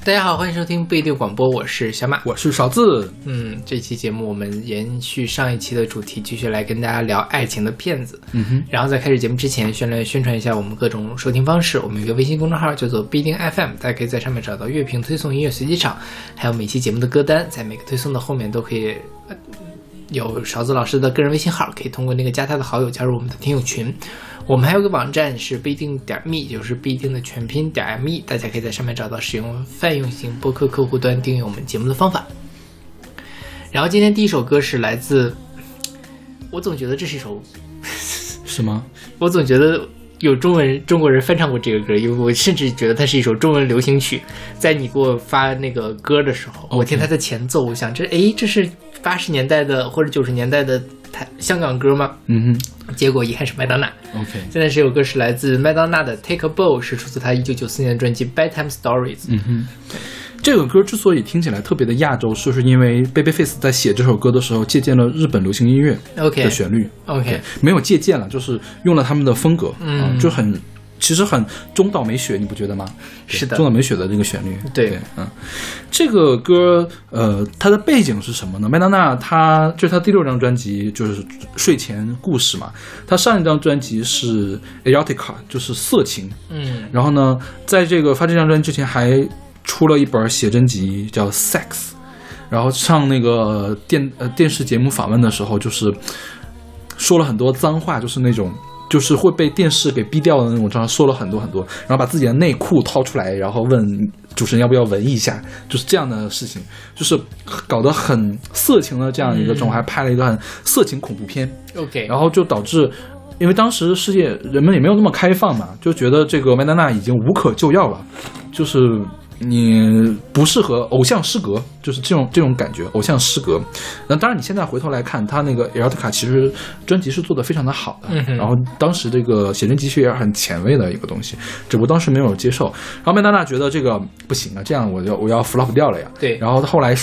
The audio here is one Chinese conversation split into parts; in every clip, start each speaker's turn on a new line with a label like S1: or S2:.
S1: 大家好，欢迎收听不一定广播，我是小马，
S2: 我是勺子。
S1: 这期节目我们延续上一期的主题，继续来跟大家聊爱情的骗子。然后在开始节目之前，宣传一下我们各种收听方式。我们有一个微信公众号叫做不一定 FM， 大家可以在上面找到乐评推送、音乐随机场，还有每期节目的歌单，在每个推送的后面都可以有勺子老师的个人微信号，可以通过那个加他的好友加入我们的听友群。我们还有个网站是不一定.me， 就是不一定的全拼.me， 大家可以在上面找到使用泛用型播客客户端订阅我们节目的方法。然后今天第一首歌是来自，我总觉得这是一首
S2: 是吗？
S1: 我总觉得有中国人翻唱过这个歌，因为我甚至觉得它是一首中文流行曲。在你给我发那个歌的时候，我听它的前奏，我想这是80年代的或者90年代的香港歌吗？结果一看是麦当娜。现在这首歌是来自麦当娜的 Take a Bow， 是出自她1994年的专辑 Bedtime Stories。
S2: 这个歌之所以听起来特别的亚洲，是因为 Babyface 在写这首歌的时候借鉴了日本流行音乐的旋律。没有借鉴了，就是用了他们的风格，就其实很中岛美雪，你不觉得吗？
S1: 是的，
S2: 中岛美雪的这个旋律。
S1: 对，
S2: 这个歌它的背景是什么呢？麦当娜就是她第6张专辑，就是睡前故事嘛。她上一张专辑是 Erotica， 就是色情。然后呢，在这个发这张专辑之前还出了一本写真集叫 Sex， 然后上那个电视节目访问的时候，就是说了很多脏话，就是那种就是会被电视给逼掉的那种，这样说了很多很多，然后把自己的内裤掏出来，然后问主持人要不要闻一下，就是这样的事情，就是搞得很色情的这样一个状态，还拍了一个很色情恐怖片。然后就导致，因为当时世界人们也没有那么开放嘛，就觉得这个麦当娜已经无可救药了，就是你不适合偶像失格，就是这种感觉，偶像失格。那当然，你现在回头来看，他那个 Erotica 其实专辑是做得非常的好的，然后当时这个写真集也是很前卫的一个东西，只不过当时没有接受。然后麦当娜觉得这个不行啊，这样我要 flop 掉了呀。
S1: 对。然
S2: 后后来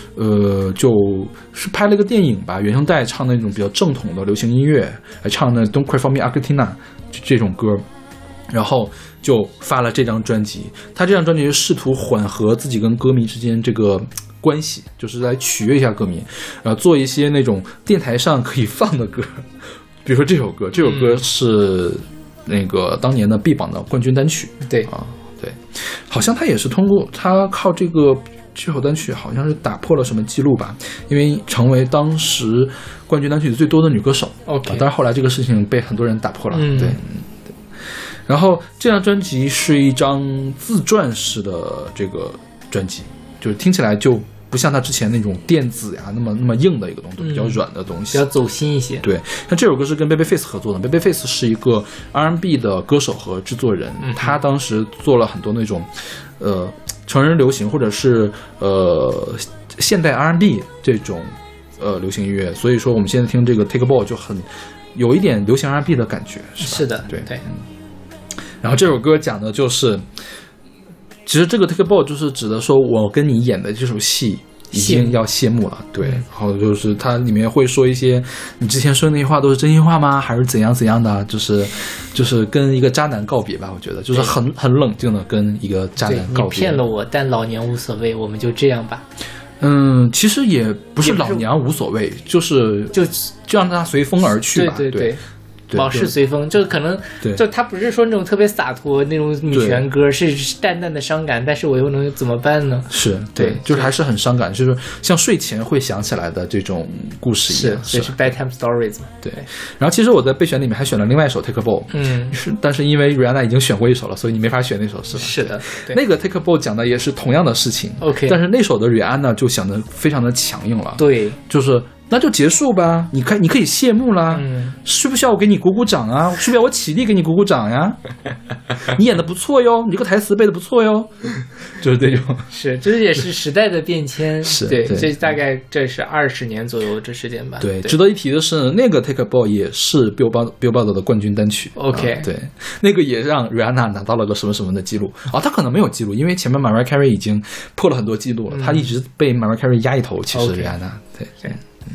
S2: 就是拍了一个电影吧，原声带唱那种比较正统的流行音乐，还唱那 Don't Cry for Me Argentina 这种歌。然后就发了这张专辑，他这张专辑试图缓和自己跟歌迷之间这个关系，就是来取悦一下歌迷，然后做一些那种电台上可以放的歌，比如说这首歌是那个当年的 B 榜的冠军单曲。对，好像他也是通过他靠这首单曲好像是打破了什么记录吧，因为成为当时冠军单曲最多的女歌手。但是后来这个事情被很多人打破了。对。然后这张专辑是一张自传式的这个专辑，就是听起来就不像他之前那种电子呀那么硬的一个东西，比较软的东西，
S1: 比较走心一些。
S2: 对，那这首歌是跟 Babyface 合作的。Babyface 是一个 R&B 的歌手和制作人，他当时做了很多那种成人流行或者是现代 R&B 这种流行音乐，所以说我们现在听这个 Take a Bow 就很有一点流行 R&B 的感觉。
S1: 是的，对。
S2: 然后这首歌讲的就是，其实这个 Take a Bow 就是指的说我跟你演的这首戏已经要谢幕了。对，然后就是它里面会说一些你之前说的那些话都是真心话吗？还是怎样的？就是跟一个渣男告别吧，我觉得就是很冷静的跟一个渣男告别。
S1: 你骗了我，但老娘无所谓，我们就这样吧。
S2: 其实也不是老娘无所谓，就让他随风而去吧。对。
S1: 往事随风，就可能就他不是说那种特别洒脱那种女权歌，是淡淡的伤感，但是我又能怎么办呢？是对，
S2: 就是还是很伤感，就是像睡前会想起来的这种故事一样。
S1: 这是 Bedtime Stories 嘛？
S2: 对。然后其实我在备选里面还选了另外一首 Take a Bow， 但是因为 Rihanna 已经选过一首了，所以你没法选那首，是吧？
S1: 是的，
S2: 那个 Take a Bow 讲的也是同样的事情。但是那首的 Rihanna 就想的非常的强硬了。
S1: 对，
S2: 就是。那就结束吧，你可以谢幕啦，需不需要我给你鼓鼓掌啊？需不需要我起立给你鼓鼓掌呀？你演的不错哟，你这个台词背的不错哟，就是这种。
S1: 这也是时代的变迁。对，这大概这是20年左右的时间吧。
S2: 对，值得一提的是，那个 Take a Bow 也是 Billboard 的冠军单曲。对，那个也让 Rihanna 拿到了个什么的记录。他可能没有记录，因为前面 Mariah Carey 已经破了很多记录了，他一直被 Mariah Carey 压一头。其实 Rihanna 对。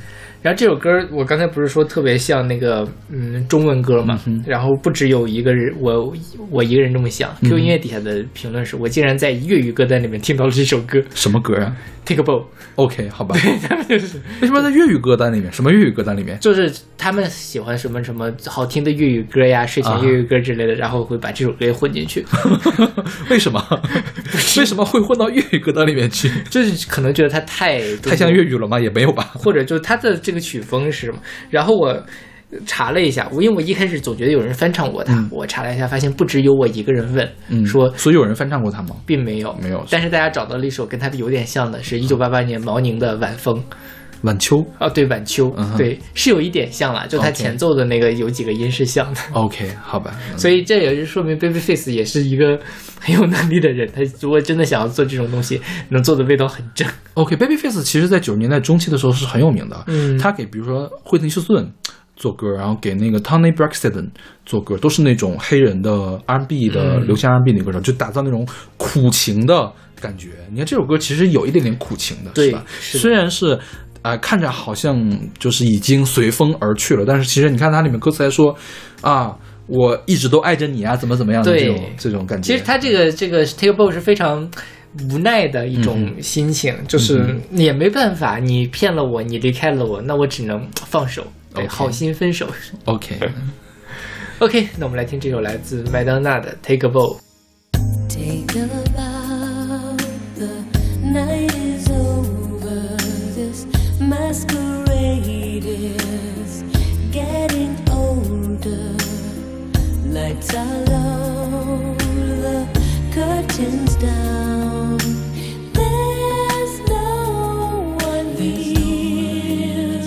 S1: 然后这首歌我刚才不是说特别像那个中文歌嘛，然后不只有一个人，我一个人这么想。QQ 音乐底下的评论是我竟然在粤语歌单里面听到了这首歌。
S2: 什么歌啊
S1: ？Take a bow。
S2: OK， 好吧。
S1: 对，他们就是
S2: 为什么在粤语歌单里面？什么粤语歌单里面？
S1: 就是他们喜欢什么什么好听的粤语歌呀，睡前粤语歌之类的，然后会把这首歌也混进去。
S2: 为什么？为什么会混到粤语歌单里面去？
S1: 就是可能觉得它太
S2: 像粤语了吗？也没有吧。
S1: 或者就是它的这个曲风是什么？然后我查了一下，因为我一开始总觉得有人翻唱过它，我查了一下，发现不只有我一个人问，说
S2: 所以有人翻唱过它吗？
S1: 并没有，
S2: 没有。
S1: 但是大家找到了一首跟它有点像的，是1988年毛宁的《晚风》。
S2: 晚秋
S1: 对，晚秋，对，是有一点像了，就它前奏的那个有几个音是像的。
S2: OK， 好吧。
S1: 所以这也是说明 Babyface 也是一个很有能力的人，他如果真的想要做这种东西，能做的味道很正。
S2: OK，Babyface 其实在90年代中期的时候是很有名的，他给比如说惠特尼休斯顿做歌，然后给那个 Tony Braxton 做歌，都是那种黑人的 R&B 的流行 R&B 的歌手，就打造那种苦情的感觉。你看这首歌其实有一点点苦情的，
S1: 对，
S2: 是吧？虽然是看着好像就是已经随风而去了，但是其实你看它里面歌词还说我一直都爱着你啊，怎么样的这种感觉。
S1: 其实它这个 Take a bow 是非常无奈的一种心情，就是你也没办法，你骗了我，你离开了我，那我只能放手，对，好心分手。
S2: OK，
S1: 那我们来听这首来自麦当娜的 Take a bow。Take a bow, the night is over, this masquerade is getting older, lights are low, the curtains down, there's no one here,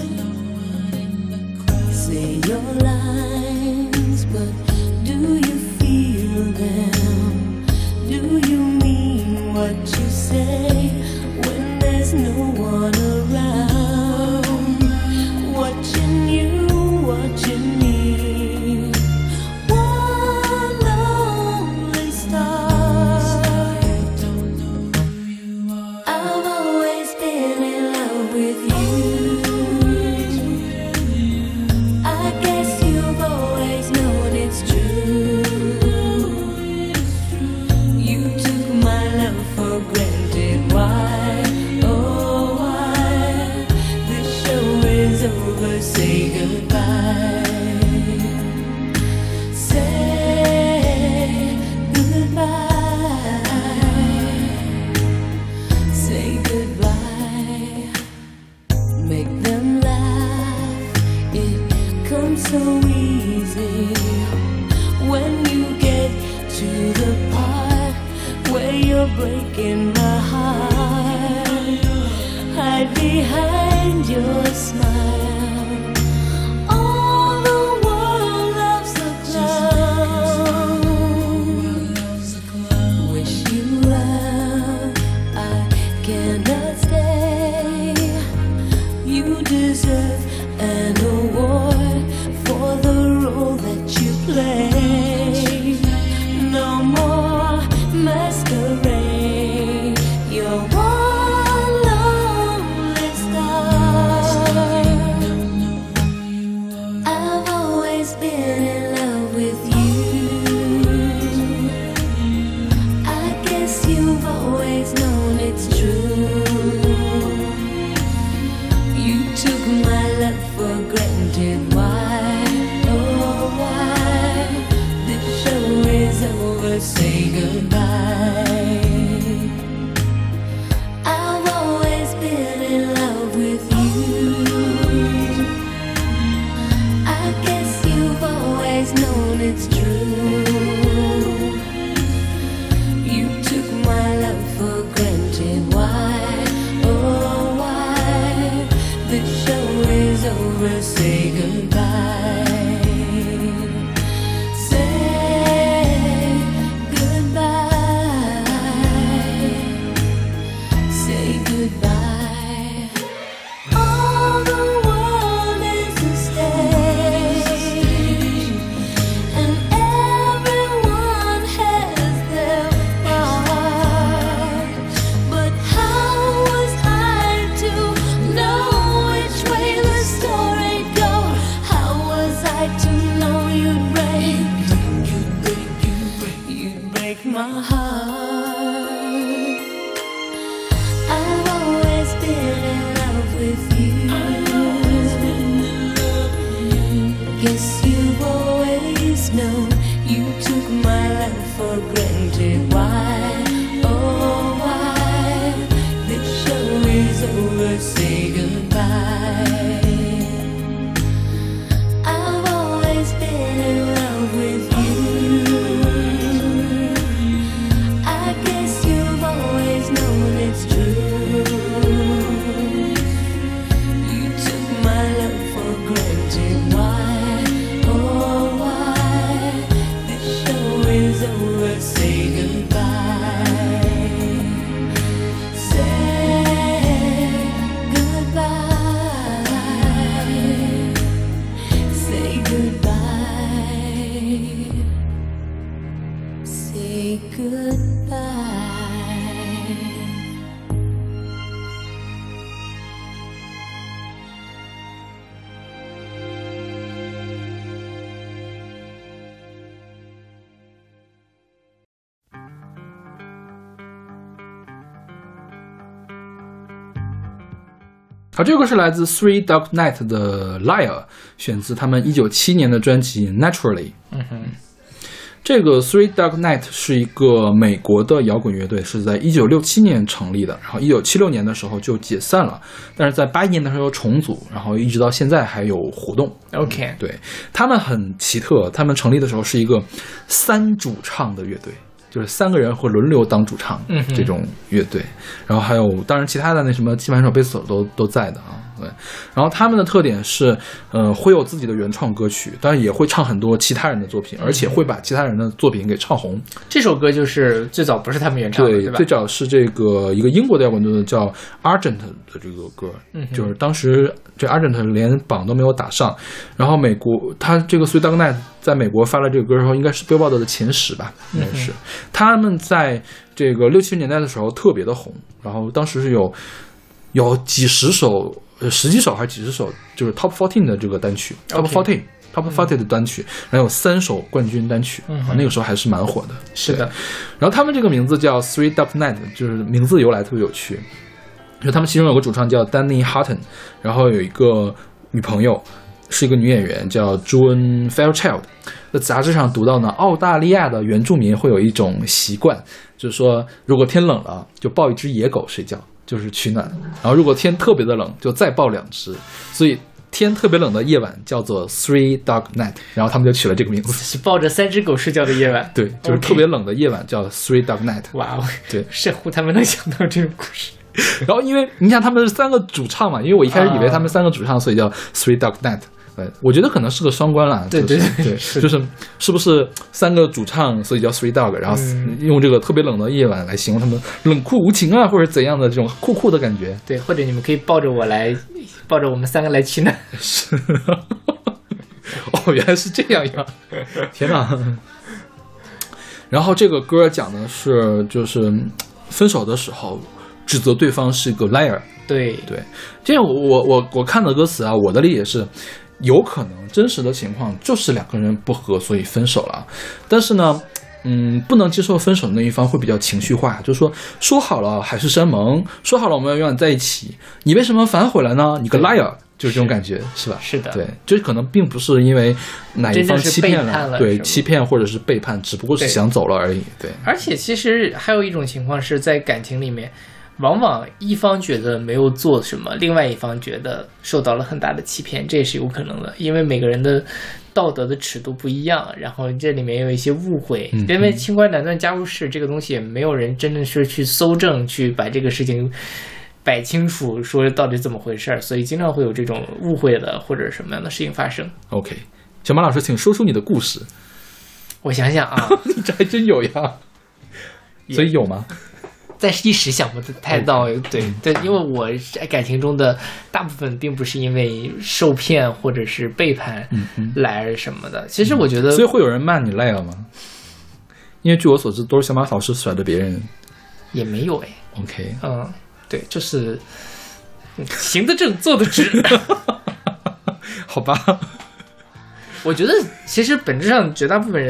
S1: say your lines, but do you feel them, do you mean what you say when there's no one around, watching you, watching me, one lonely star. I've always been in love with you, I guess you've always known it's true, you took my love for granted, why, oh why, this show is over, say goodbye, say goodbye, say goodbye, make them laugh, it comes so easy, when you get to the part where you're breaking my heart, hide behind your smile, all the world loves a clown, wish you well, I cannot stay, you deserve an award for the role that you play, no more masquerade, you're one lonely star. I've always been in love with you, I guess you've always known it's true, you took my love for granted, why, oh why, this show is over, say goodbye, I've always been in love with you, I guess you've always known it's true, you took my love for granted, why, oh why, this show is over, say goodbye, say goodbye.
S3: break my heart. I've always been in love with you. Guess you've always known you took my love for granted. Why, oh why? This show is over, say goodbye. I've always been in love with you. I guess you've always known it's true. You took my love for granted. Why, oh why? This show is over, say goodbye. Say goodbye. Say goodbye. Say goodbye.
S2: 好，这个是来自 Three Dog Night 的 Liar， 选自他们1997年的专辑 Naturally。这个 Three Dog Night 是一个美国的摇滚乐队，是在1967年成立的，然后1976年的时候就解散了，但是在81年的时候又重组，然后一直到现在还有活动。
S1: OK，
S2: 对，他们很奇特，他们成立的时候是一个3主唱的乐队。就是3个人会轮流当主唱，这种乐队，然后还有当然其他的那什么键盘手、贝斯手都在的啊，对。然后他们的特点是，会有自己的原创歌曲，当然也会唱很多其他人的作品，而且会把其他人的作品给唱红。
S1: 这首歌就是最早不是他们原唱的，对吧？
S2: 最早是这个一个英国的摇滚队叫 Argent 的这个歌，就是当时这 Argent 连榜都没有打上，然后美国他这个 Three Dog Night 在美国发了这个歌之后，应该是 Billboard 的前10吧，应该是。他们在这个60、70年代的时候特别的红，然后当时是有几十首、10几首还是几十首，就是 Top 14的这个单曲 ，Top 40的单曲，然后有3首冠军单曲，那个时候还是蛮火的。
S1: 是的。
S2: 然后他们这个名字叫 Three Dog Night， 就是名字由来特别有趣，就他们其中有个主唱叫 Danny Houghton， 然后有一个女朋友。是一个女演员叫 June Fairchild， 在杂志上读到呢，澳大利亚的原住民会有一种习惯，就是说如果天冷了就抱一只野狗睡觉，就是取暖，然后如果天特别的冷就再抱2只，所以天特别冷的夜晚叫做 Three Dog Night， 然后他们就取了这个名字，
S1: 是抱着3只狗睡觉的夜晚。
S2: 对，就是特别冷的夜晚叫 Three Dog Night。
S1: 哇哦，
S2: 对，
S1: 神乎他们能想到这种故事。
S2: 然后因为你想他们是3个主唱嘛，因为我一开始以为他们3个主唱，所以叫 Three Dog Night。我觉得可能是个双关啦，
S1: 对，
S2: 就是是不是3个主唱，所以叫 Three Dog， 然后用这个特别冷的夜晚来形容他们冷酷无情啊，或者怎样的这种酷酷的感觉。
S1: 对，或者你们可以抱着我们3个来取暖。
S2: 是，哦，原来是这样呀！天哪！然后这个歌讲的是，就是分手的时候指责对方是个 liar。
S1: 对，
S2: 这样我看的歌词啊，我的理解是。有可能真实的情况就是2个人不和，所以分手了。但是呢，不能接受分手的那一方会比较情绪化，就是说好了海誓山盟，说好了我们要永远在一起，你为什么反悔了呢？你个 liar， 就是这种感觉，是吧？
S1: 是的，
S2: 对，这可能并不是因为哪一方欺骗
S1: 了，
S2: 对，欺骗或者是背叛，只不过是想走了而已。对，
S1: 而且其实还有一种情况是在感情里面。往往一方觉得没有做什么，另外一方觉得受到了很大的欺骗，这也是有可能的，因为每个人的道德的尺度不一样，然后这里面有一些误会，因为清官难断家务事这个东西也没有人真的是去搜证去把这个事情摆清楚，说到底怎么回事，所以经常会有这种误会的或者什么样的事情发生。
S2: OK， 小马老师请说出你的故事。
S1: 我想想啊
S2: 你这还真有呀，所以有吗？
S1: 但是一时想不太到，对，因为我感情中的大部分并不是因为受骗或者是背叛来什么的。其实我觉得，
S2: 所以会有人骂你赖了吗？因为据我所知，都是小马老师甩的别人。
S1: 也没有
S2: OK，
S1: 对，就是行得正，坐得直。
S2: 好吧。
S1: 我觉得其实本质上绝大部分人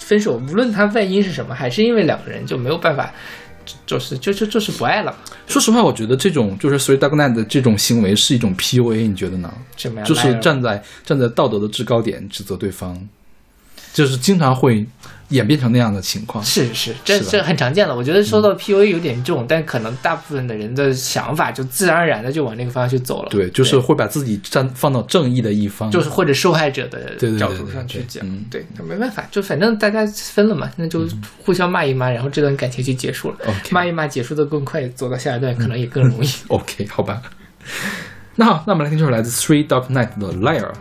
S1: 分手，无论他外因是什么，还是因为两个人就没有办法，就是不爱了。
S2: 说实话，我觉得这种就是 Three Dog Night 的这种行为是一种 PUA， 你觉得呢？
S1: 什么呀？
S2: 就是站在道德的制高点指责对方，就是经常会演变成那样的情况。
S1: 是，这很常见了。我觉得说到 PUA 有点重，但可能大部分的人的想法就自然而然的就往那个方向去走了。
S2: 对，就是会把自己放到正义的一方，
S1: 就是或者受害者的角度上去讲。对，没办法，就反正大家分了嘛，那就互相骂一骂，然后这段感情就结束了。骂一骂结束的更快，走到下一段可能也更容易。
S2: OK， 好吧。那好，那我们来听这首来自 Three Dog Night 的 Liar。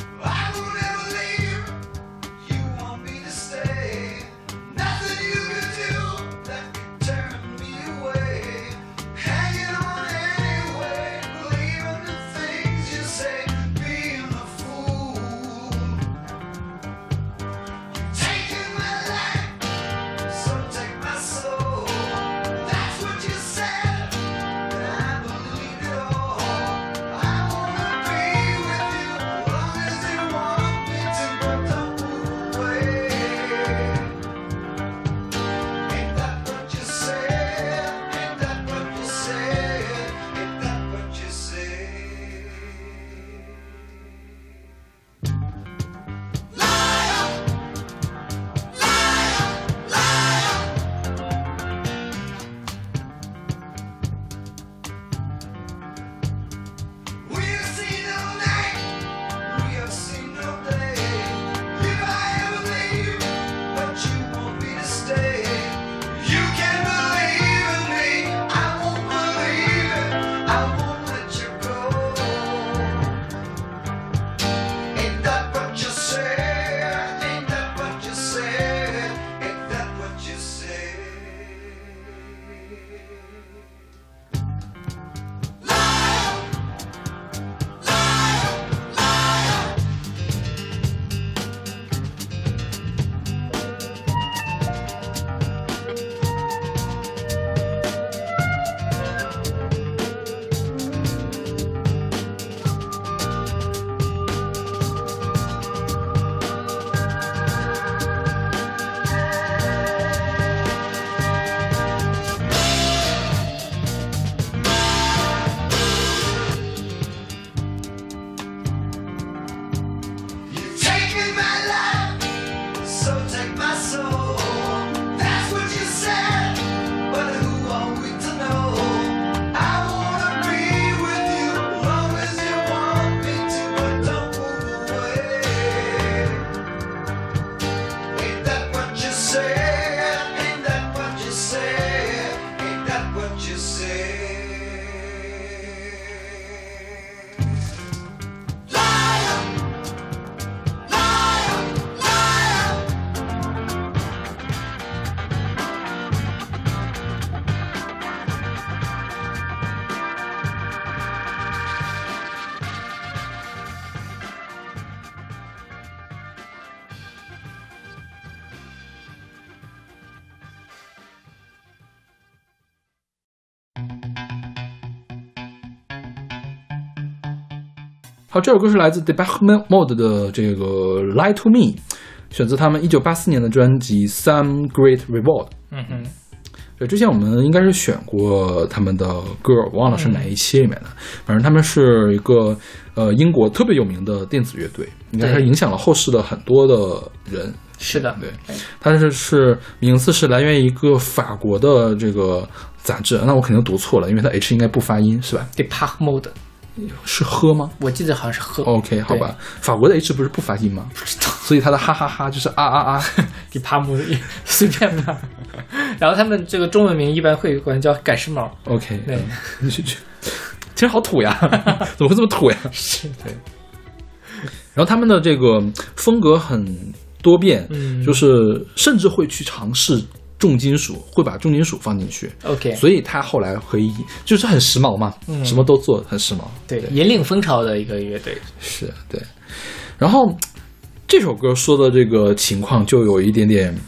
S2: 好，这首歌是来自 Depeche Mode 的这个 Lie to Me， 选自他们1984年的专辑 Some Great Reward。对，之前我们应该是选过他们的歌，忘了是哪一期里面的。反正他们是一个英国特别有名的电子乐队，应该是影响了后世的很多的人。
S1: 是的，
S2: 对，它是名字是来源于一个法国的这个杂志，那我肯定读错了，因为它 H 应该不发音，是吧
S1: ？Depeche Mode
S2: 是喝吗？
S1: 我记得好像是喝。
S2: OK， 好吧，法国的 H 不是不发音吗？
S1: 不知道，
S2: 所以它的哈哈哈就是啊啊啊
S1: ，Depeche Mode 随便吧。然后他们这个中文名一般会管叫赶时髦。
S2: OK，
S1: 对，
S2: 其实好土呀，怎么会这么土呀？
S1: 是，对。
S2: 然后他们的这个风格很多变，就是甚至会去尝试重金属，会把重金属放进去。
S1: OK，
S2: 所以他后来可以就是很时髦嘛，什么都做，很时髦。
S1: 对，引领风潮的一个乐队。
S2: 是，对。然后这首歌说的这个情况就有一点点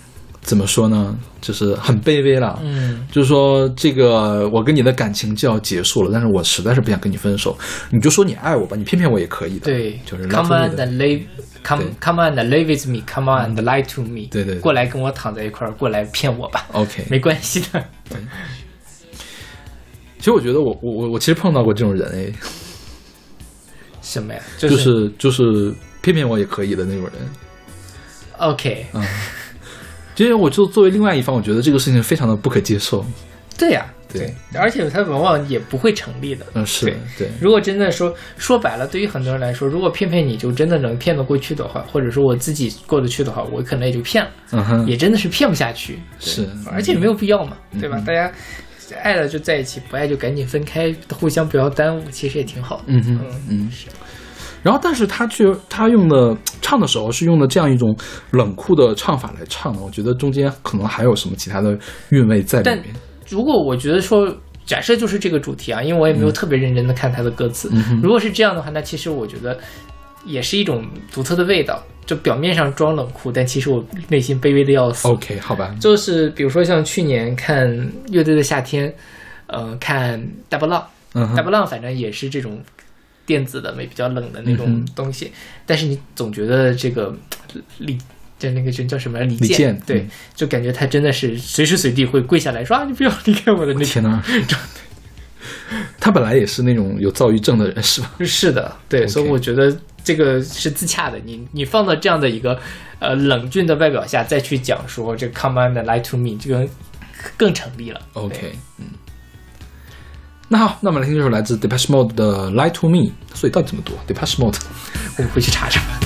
S2: 怎么说呢，就是很卑微了。就是说这个我跟你的感情就要结束了，但是我实在是不想跟你分手，你就说你爱我吧，你骗骗我也可以的。
S1: 对，
S2: 就是
S1: come on and live。Come on and live with me. Come on and lie to me.
S2: 对，
S1: 过来跟我躺在一块儿，过来骗我吧。
S2: OK，
S1: 没关系的。
S2: 对，其实我觉得我其实碰到过这种人哎。
S1: 什么呀？
S2: 就是骗骗我也可以的那种人。
S1: OK，
S2: 因为我就作为另外一方，我觉得这个事情非常的不可接受。
S1: 对呀，
S2: 对，
S1: 而且它往往也不会成立的。
S2: 是对。
S1: 如果真的说白了，对于很多人来说，如果骗骗你就真的能骗得过去的话，或者说我自己过得去的话，我可能也就骗了。也真的是骗不下去。
S2: 是，而
S1: 且也没有必要嘛，对吧？大家爱了就在一起，不爱就赶紧分开，互相不要耽误，其实也挺好的。
S2: 是。然后，但是他用的唱的时候是用的这样一种冷酷的唱法来唱的，我觉得中间可能还有什么其他的韵味在里面。
S1: 但如果我觉得说，假设就是这个主题啊，因为我也没有特别认真的看他的歌词，如果是这样的话，那其实我觉得也是一种独特的味道。就表面上装冷酷，但其实我内心卑微的要死。
S2: OK， 好吧。
S1: 就是比如说像去年看乐队的夏天，看大波浪，大波浪反正也是这种电子的比较冷的那种东西，但是你总觉得这个就那个人叫什么李健，对，就感觉他真的是随时随地会跪下来说啊，你不要离开我的那
S2: 天哪！他本来也是那种有躁郁症的人，是吧？
S1: 是的，对，
S2: Okay.
S1: 所以我觉得这个是自洽的。你放到这样的一个冷峻的外表下，再去讲说这 Come on and lie to me， 这个更成立了。
S2: OK， 那好，那我们来听这首来自 Depeche Mode 的 Lie to Me， 所以到底怎么读 Depeche Mode？
S1: 我们回去查查吧。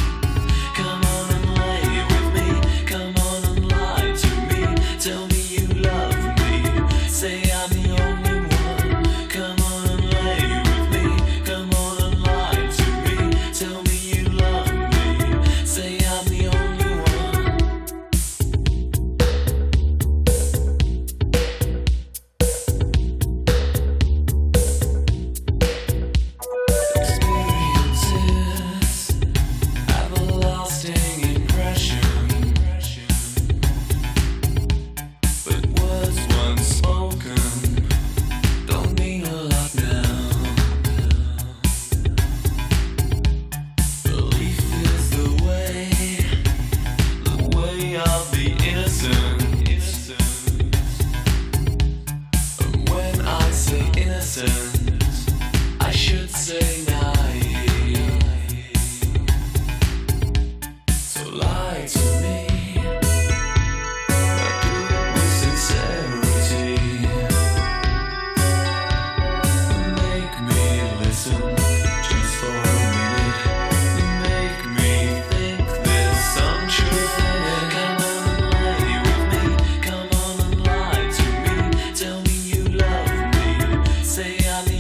S3: Say I'm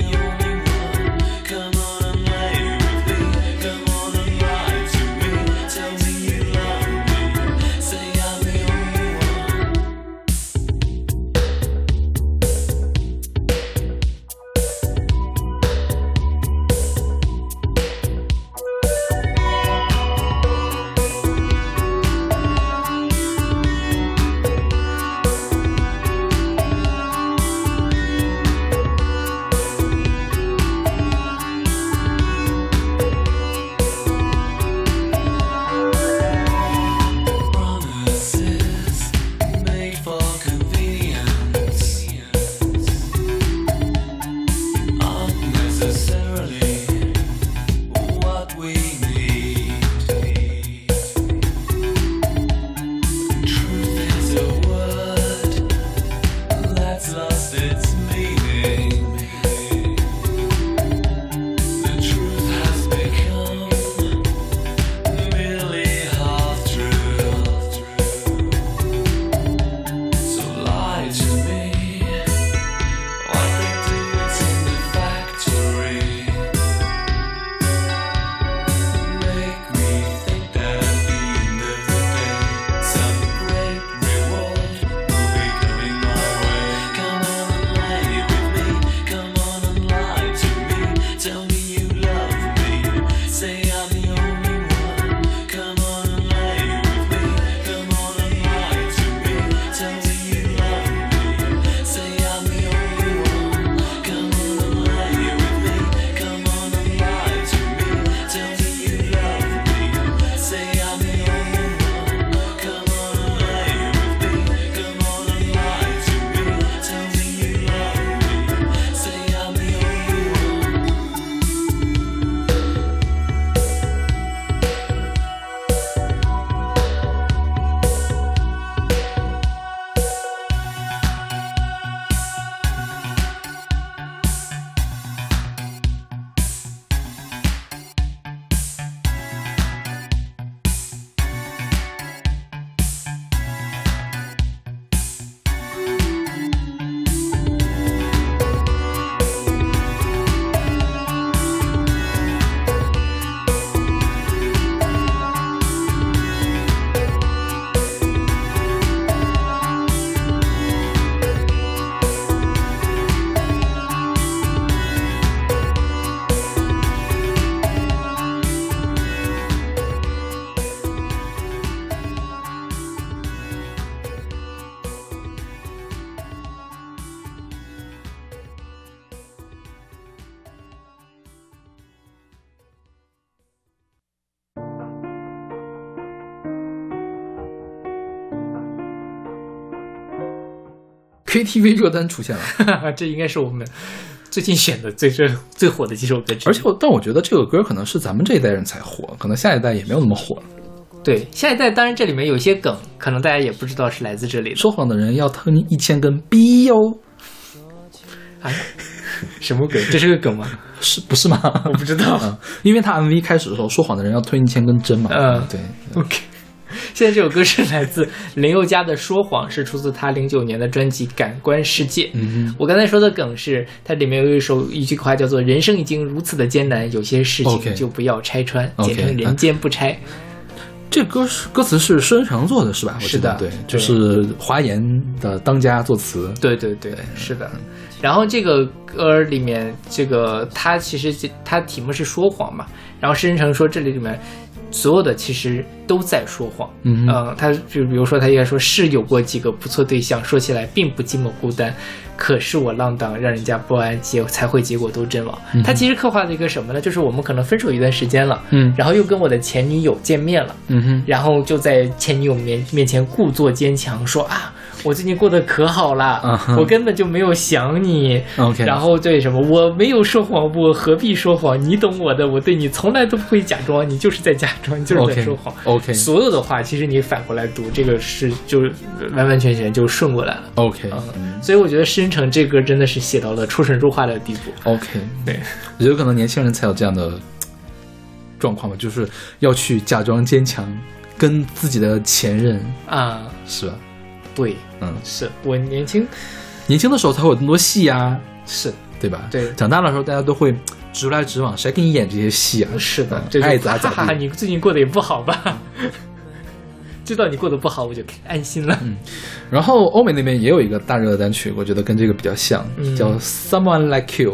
S2: KTV 热单出现了，
S1: 这应该是我们最近选的最火的几首歌之一。
S2: 而且但我觉得这个歌可能是咱们这一代人才火，可能下一代也没有那么火了。
S1: 对，下一代当然这里面有些梗，可能大家也不知道是来自这里的。
S2: 说谎的人要吞1000根逼哟！
S1: 哎，什么梗？这是个梗吗？
S2: 是不是吗？
S1: 我不知道，
S2: 因为他 MV 开始的时候，说谎的人要吞1000根针嘛。对。
S1: OK。现在这首歌是来自林宥嘉的《说谎》，是出自他09年的专辑《感官世界》。我刚才说的梗是，它里面有一句话叫做“人生已经如此的艰难，有些事情就不要拆穿”，简称“人间不拆”。
S2: 这歌词是施恩成做的是吧？
S1: 是的，
S2: 对，就是华研的当家作词。
S1: 对，是的。然后这个歌里面，这个它其实它题目是说谎嘛，然后施恩成说这里面所有的其实都在说谎。他就比如说他应该说是有过几个不错对象，说起来并不寂寞孤单，可是我浪荡让人家不安，才会结果都阵亡。他其实刻画的一个什么呢？就是我们可能分手一段时间了，然后又跟我的前女友见面了，然后就在前女友面前故作坚强说啊，我最近过得可好了，我根本就没有想你。然后对什么，我没有说谎，我何必说谎？你懂我的，我对你从来都不会假装，你就是在假装，你就是在说谎。所有的话，其实你反过来读，这个是就完完全全就顺过来了。所以我觉得施恩成这歌真的是写到了出神入化的地步。对，
S2: 我觉得可能年轻人才有这样的状况吧，就是要去假装坚强，跟自己的前任
S1: 啊，
S2: 是吧？
S1: 对，是我年轻
S2: 的时候才会有那么多戏啊，
S1: 是
S2: 对吧？
S1: 对，
S2: 长大的时候大家都会直来直往，谁给你演这些戏啊？
S1: 是的，
S2: 爱咋咋地。
S1: 你最近过得也不好吧？知道你过得不好，我就安心了。
S2: 然后欧美那边也有一个大热的单曲，我觉得跟这个比较像，叫 Someone Like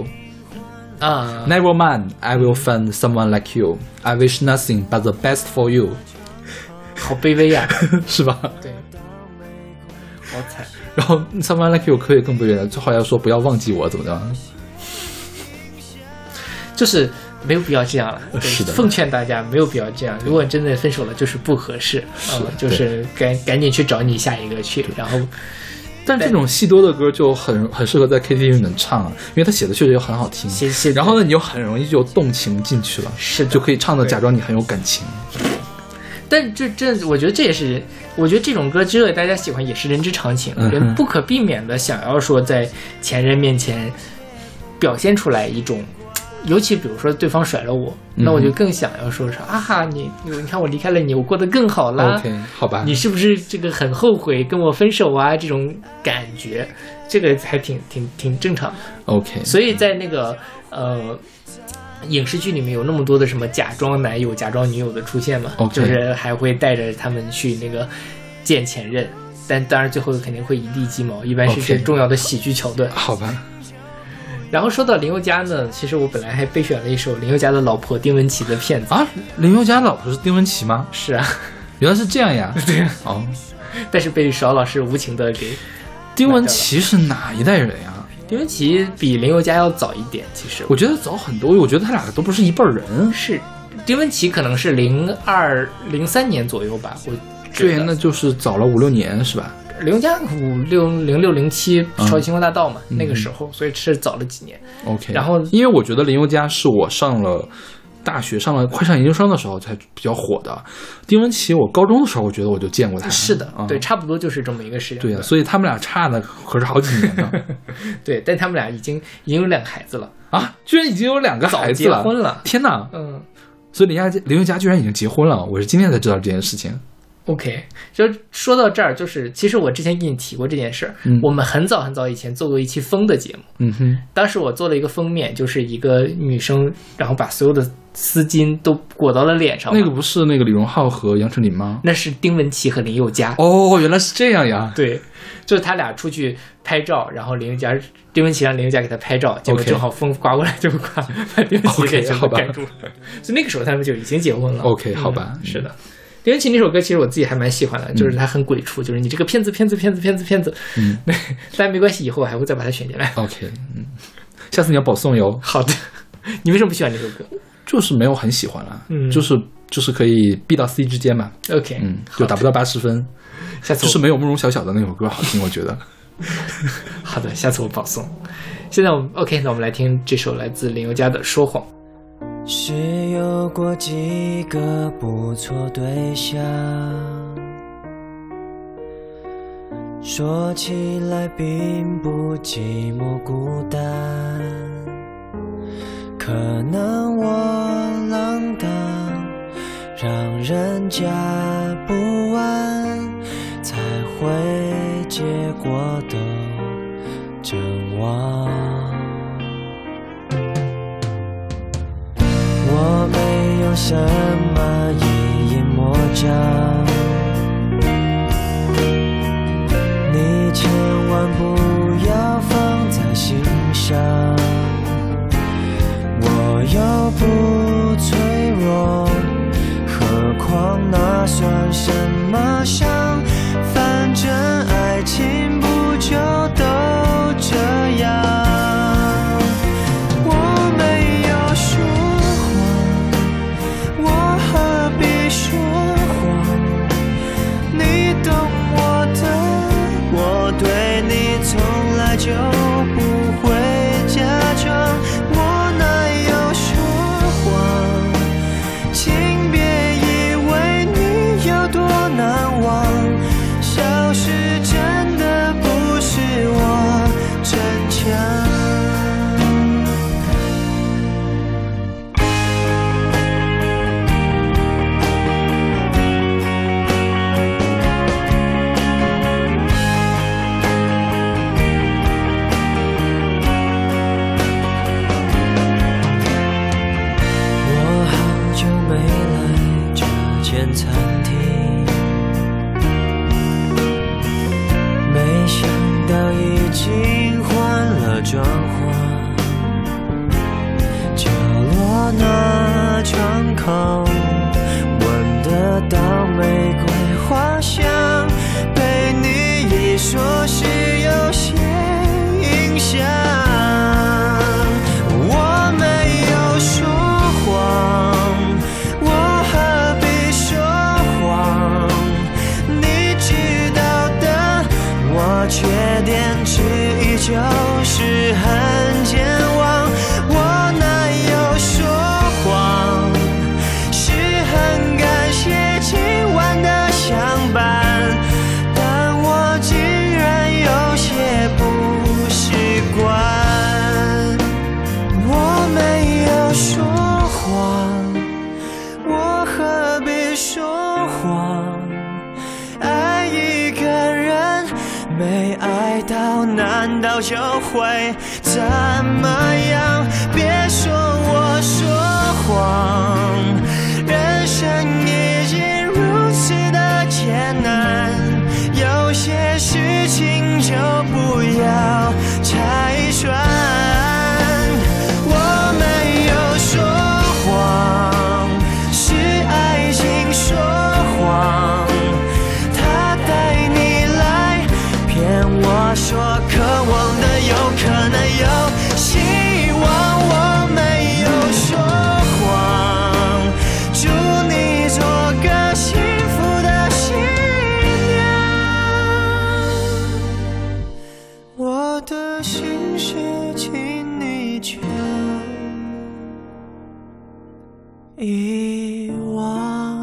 S2: You。Never mind, I will find someone like you. I wish nothing but the best for you。
S1: 好卑微呀，
S2: 是吧？
S1: 对。好惨。
S2: 然后 Someone Like You 可以更卑微了，最后要说不要忘记我，怎么样？
S1: 就是没有必要这样了。
S2: 是的，
S1: 奉劝大家没有必要这样。如果真的分手了，就是不合适，就是赶紧去找你下一个去。然后，
S2: 但这种戏多的歌就很适合在 KTV 里面唱啊，因为他写的确实又很好听。然后呢，你又很容易就动情进去了，
S1: 是的，
S2: 就可以唱的假装你很有感情。
S1: 但我觉得这也是，我觉得这种歌之所以大家喜欢，也是人之常情，人不可避免的想要说在前任面前表现出来一种，尤其比如说对方甩了我，那我就更想要说啊哈，你看我离开了你，我过得更好啦。
S2: OK， 好吧，
S1: 你是不是这个很后悔跟我分手啊？这种感觉，这个还挺正常的。
S2: OK，
S1: 所以在那个影视剧里面有那么多的什么假装男友、假装女友的出现嘛，就是还会带着他们去那个见前任，但当然最后肯定会一地鸡毛，一般是这重要的喜剧桥段。
S2: 好吧。
S1: 然后说到林宥嘉呢，其实我本来还备选了一首林宥嘉的老婆丁文琪的片子
S2: 啊。林宥嘉老婆是丁文琪吗？
S1: 是啊，
S2: 原来是这样呀。
S1: 对啊，但是被邵老师无情的给。
S2: 丁文琪是哪一代人呀？
S1: 丁文琪比林宥嘉要早一点，其实
S2: 我觉得早很多，我觉得他俩都不是一辈人。
S1: 是，丁文琪可能是02、03年左右吧，我
S2: 对，那就是早了5-6年是吧？
S1: 林宥嘉06、07超级星光大道嘛，那个时候，所以是早了几年。
S2: OK，
S1: 然后
S2: 因为我觉得林宥嘉是我上了大学，快上研究生的时候才比较火的。丁文琪我高中的时候，我觉得我就见过他。
S1: 是的，对，差不多就是这么一个时间。
S2: 对啊，所以他们俩差的可是好几年呢。
S1: 对，但他们俩已经有2个孩子了
S2: 啊！居然已经有2个孩子了，
S1: 结婚了！
S2: 天哪！所以林宥嘉居然已经结婚了，我是今天才知道这件事情。
S1: OK， 就说到这儿，就是其实我之前给你提过这件事儿。我们很早很早以前做过一期风的节目。当时我做了一个封面，就是一个女生，然后把所有的丝巾都裹到了脸上。
S2: 那个不是那个李荣浩和杨丞琳吗？
S1: 那是丁文琪和林宥嘉。
S2: 哦，原来是这样呀。
S1: 对，就是他俩出去拍照，然后丁文琪让林宥嘉给他拍照，结果正好风刮过来就把丁文琪给全部盖住了。所以那个时候他们就已经结婚了。
S2: OK， 好吧，
S1: 是的。丁文琪那首歌其实我自己还蛮喜欢的，就是它很鬼畜，就是你这个骗子。但没关系，以后我还会再把它选进来。
S2: OK， 下次你要保送哟。
S1: 好的。你为什么不喜欢这首歌？
S2: 就是没有很喜欢了，就是可以 B 到 C 之间嘛。
S1: OK，
S2: 就达不到80分。
S1: 下次
S2: 就是没有慕容晓晓的那首歌好听，我觉得。
S1: 好的，下次我保送。现在我们 OK， 那我们来听这首来自林宥嘉的《说谎》。
S4: 是有过几个不错对象，说起来并不寂寞孤单，可能我浪荡，让人家不安，才会结果都阵亡。我没有什么一言魔障，你千万不要放在心上，我又不脆弱，何况那算什么伤？反正爱情不就都这样。我没有说谎，我何必说谎？你懂我的，我对你从来就不会假装，我哪有说谎？请别以为你有多难忘，消失真的不是我逞强。餐厅，没想到已经换了装潢，角落那窗口闻得到玫瑰花香，被你一说是有些影响。我没有说谎，我何必缺点之一就是很健忘，我哪有说谎？是很感谢今晚的相伴，但我竟然有些不习惯。我没有说谎，我何必说谎？爱一个人没爱到，难道就会怎么样？别说我说谎，人生已经如此的艰难，有些事情就不要拆穿。我没有说谎，是爱情说谎，他带你来骗我说渴望的有可能有希望。我没有说谎，祝你做个幸福的新娘，我的心事请你就遗忘。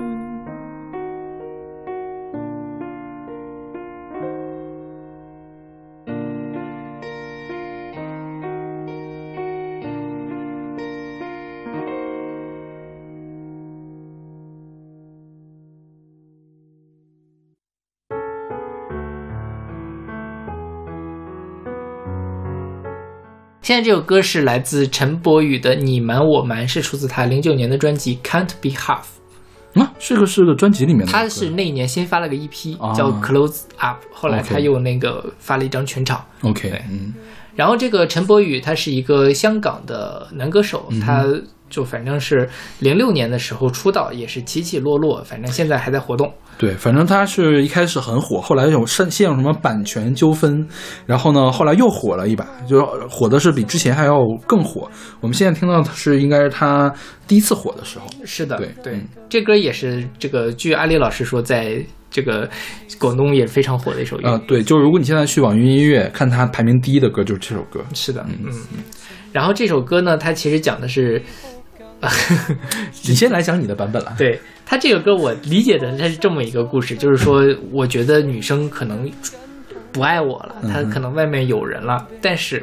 S1: 现在这首歌是来自陈柏宇的《你瞒我瞒》，是出自他09年的专辑 Can't Be Half。
S2: 这个是个专辑里面的歌。
S1: 他是那一年先发了个 EP、叫 Close Up， 后来他又那个发了一张全场。
S2: OK，
S1: 然后这个陈柏宇他是一个香港的男歌手，他就反正是06年的时候出道，也是起起落落，反正现在还在活动。
S2: 对，反正他是一开始很火，后来有陷入什么版权纠纷，然后呢，后来又火了一把，就火的是比之前还要更火。我们现在听到的是应该是他第一次火的时候。
S1: 是的，
S2: 对，
S1: 这歌也是这个，据阿里老师说，在这个广东也非常火的一首粤语。
S2: 对，就是如果你现在去网易云音乐看它排名第一的歌，就是这首歌。
S1: 是的，然后这首歌呢，它其实讲的是，
S2: 你先来讲你的版本了。
S1: 对，它这个歌我理解的它是这么一个故事，就是说，我觉得女生可能不爱我了，她可能外面有人了，但是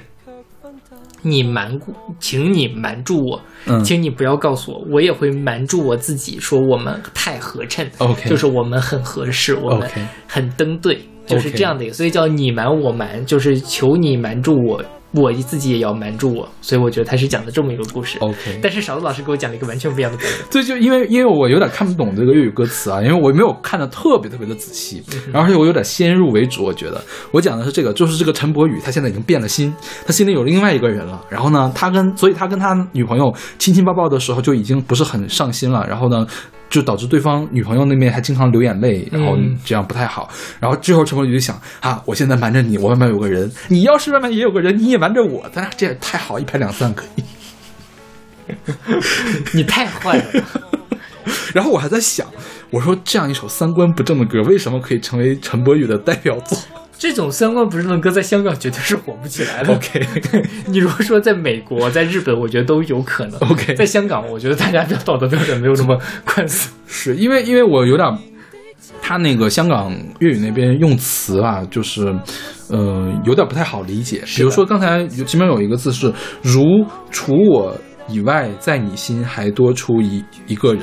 S1: 请你瞒住我，请你不要告诉我，我也会瞒住我自己，说我们太合衬
S2: ，OK，
S1: 就是我们很合适，我们很登对，就是这样的一个，所以叫你瞒我瞒，就是求你瞒住我。我自己也要瞒住我，所以我觉得他是讲的这么一个故事。
S2: OK，
S1: 但是勺子老师给我讲了一个完全不一样的版本。
S2: 对，就因为我有点看不懂这个粤语歌词啊，因为我没有看得特别的仔细，然后而且我有点先入为主，我觉得我讲的是这个，就是这个陈柏宇他现在已经变了心，他心里有另外一个人了，然后呢，所以他跟他女朋友亲亲抱抱的时候就已经不是很上心了，然后呢。就导致对方女朋友那边还经常流眼泪，然后这样不太好。然后之后陈柏宇就想啊，我现在瞒着你，我外面有个人，你要是外面也有个人，你也瞒着我，咱俩这样太好，一拍两散可以。
S1: 你太坏了。
S2: 然后我还在想，我说这样一首三观不正的歌，为什么可以成为陈柏宇的代表作？
S1: 这种三观不正的歌在香港绝对是火不起来的。
S2: OK，
S1: 你如果说在美国、在日本，我觉得都有可能。
S2: OK，
S1: 在香港，我觉得大家的道德标准没有那么宽松。
S2: 是因为我有点，他那个香港粤语那边用词啊，就是有点不太好理解。比如说刚才前面有一个字是“如除我以外，在你心还多出一个人”。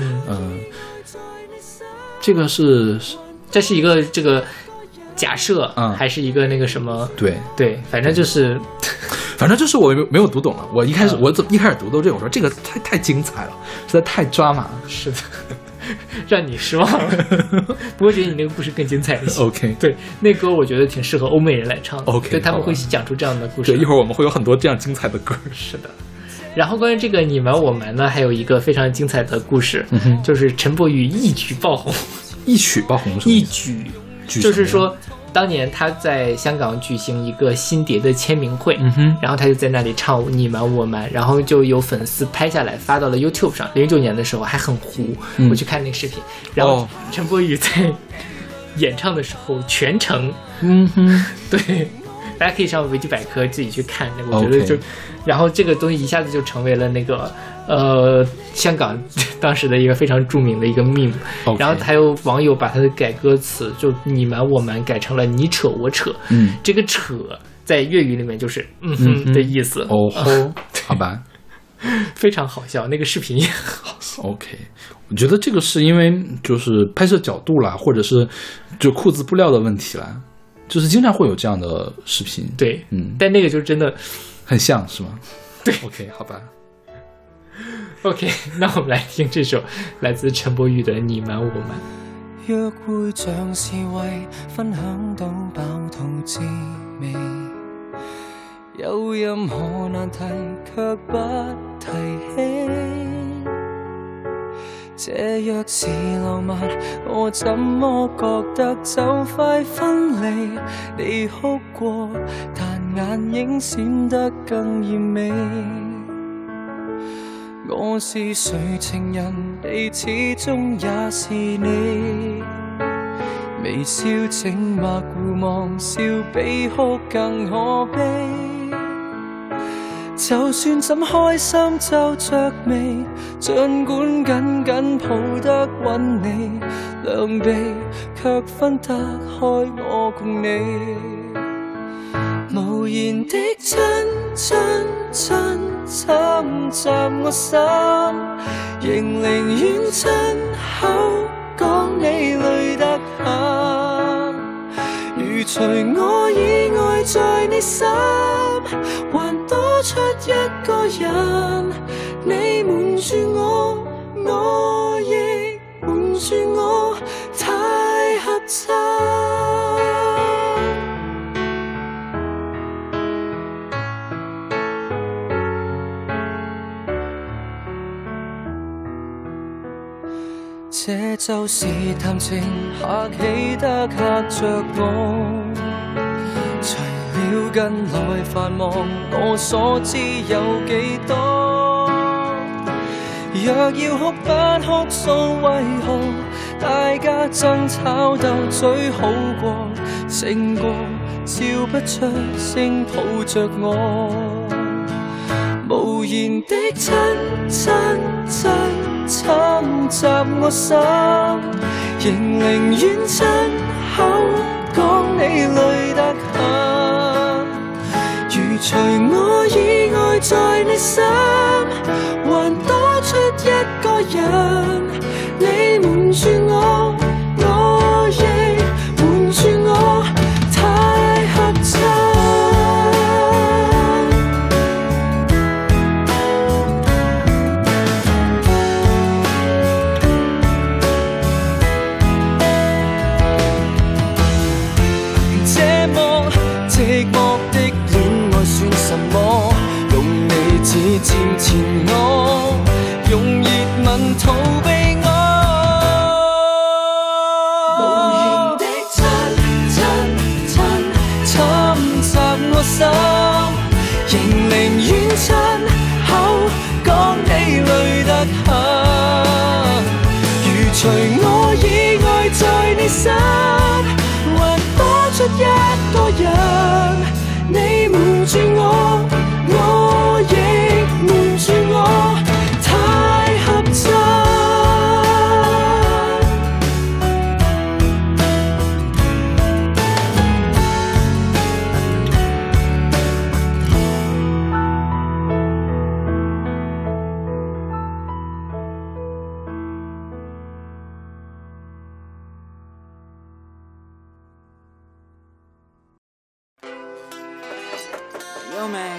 S2: 这是一个这个。假设还是一个那个什么？对，反正就是我没有读懂了。我一开始读到这个，我说这个太精彩了，实在太抓马了。
S1: 是的，让你失望了。不过觉得你那个故事更精彩一些。
S2: OK，
S1: 对，那歌我觉得挺适合欧美人来唱的。
S2: OK，
S1: 对，他们会讲出这样的故事。
S2: 对，一会儿我们会有很多这样精彩的歌。
S1: 是的。然后关于这个你瞒我瞒呢，还有一个非常精彩的故事，就是陈柏宇一举爆红。
S2: 一举爆红是吗？
S1: 一举。就是说，当年他在香港举行一个新碟的签名会，然后他就在那里唱《你瞒我瞒》，然后就有粉丝拍下来发到了 YouTube 上。09年的时候还很糊，我去看那个视频，然后陈柏宇在演唱的时候全程，对，大家可以上维基百科自己去看。我觉得就，然后这个东西一下子就成为了那个。香港当时的一个非常著名的一个 meme， 然后还有网友把他的改歌词就你瞒我瞒改成了你扯我扯，这个扯在粤语里面就是的意思。
S2: 好吧，
S1: 非常好笑，那个视频也很好笑。
S2: OK， 我觉得这个是因为就是拍摄角度啦，或者是就裤子布料的问题啦，就是经常会有这样的视频。
S1: 对，但那个就真的
S2: 很像是吗？
S1: 对
S2: ，OK， 好吧。
S1: OK， 那我们来听这首来自陈柏宇的《你瞒我瞒》。
S4: 約會像是為分享到飽肚滋味，有任何難題卻不提起。這若是浪漫，我怎麼覺得就快分離？你哭過，但眼影閃得更豔美。我是誰情人，你始終也是你。微笑靜默互望，笑比哭更可悲。就算怎開心皺着眉，儘管緊緊抱得穩你，兩臂卻分得開我共你。無言的親親親侵襲我心，仍寧願親口講你累得很。如除我以外在你心，還多出一個人，你瞞住我，我亦瞞住我，太合襯。這就是談情客氣得嚇着我，除了近來繁忙，我所知有幾多？ 若要哭不哭訴，為何大家爭吵鬥嘴好過，勝過笑不出聲抱着我，無言的親親親侵襲我心，仍寧願親口講你累得很，如除我以外在你心，還多出一個人，你瞞住我，我亦瞞住我，太合襯。這麼寂寞的戀愛算什麼？用你指尖纏我，用熱吻逃避我，無言的親親親侵襲我心，仍寧願親口講你累得很，如除我以外在你心，還多出一個人，你瞞住我，我亦瞞住我，太合襯。
S5: Yo, man.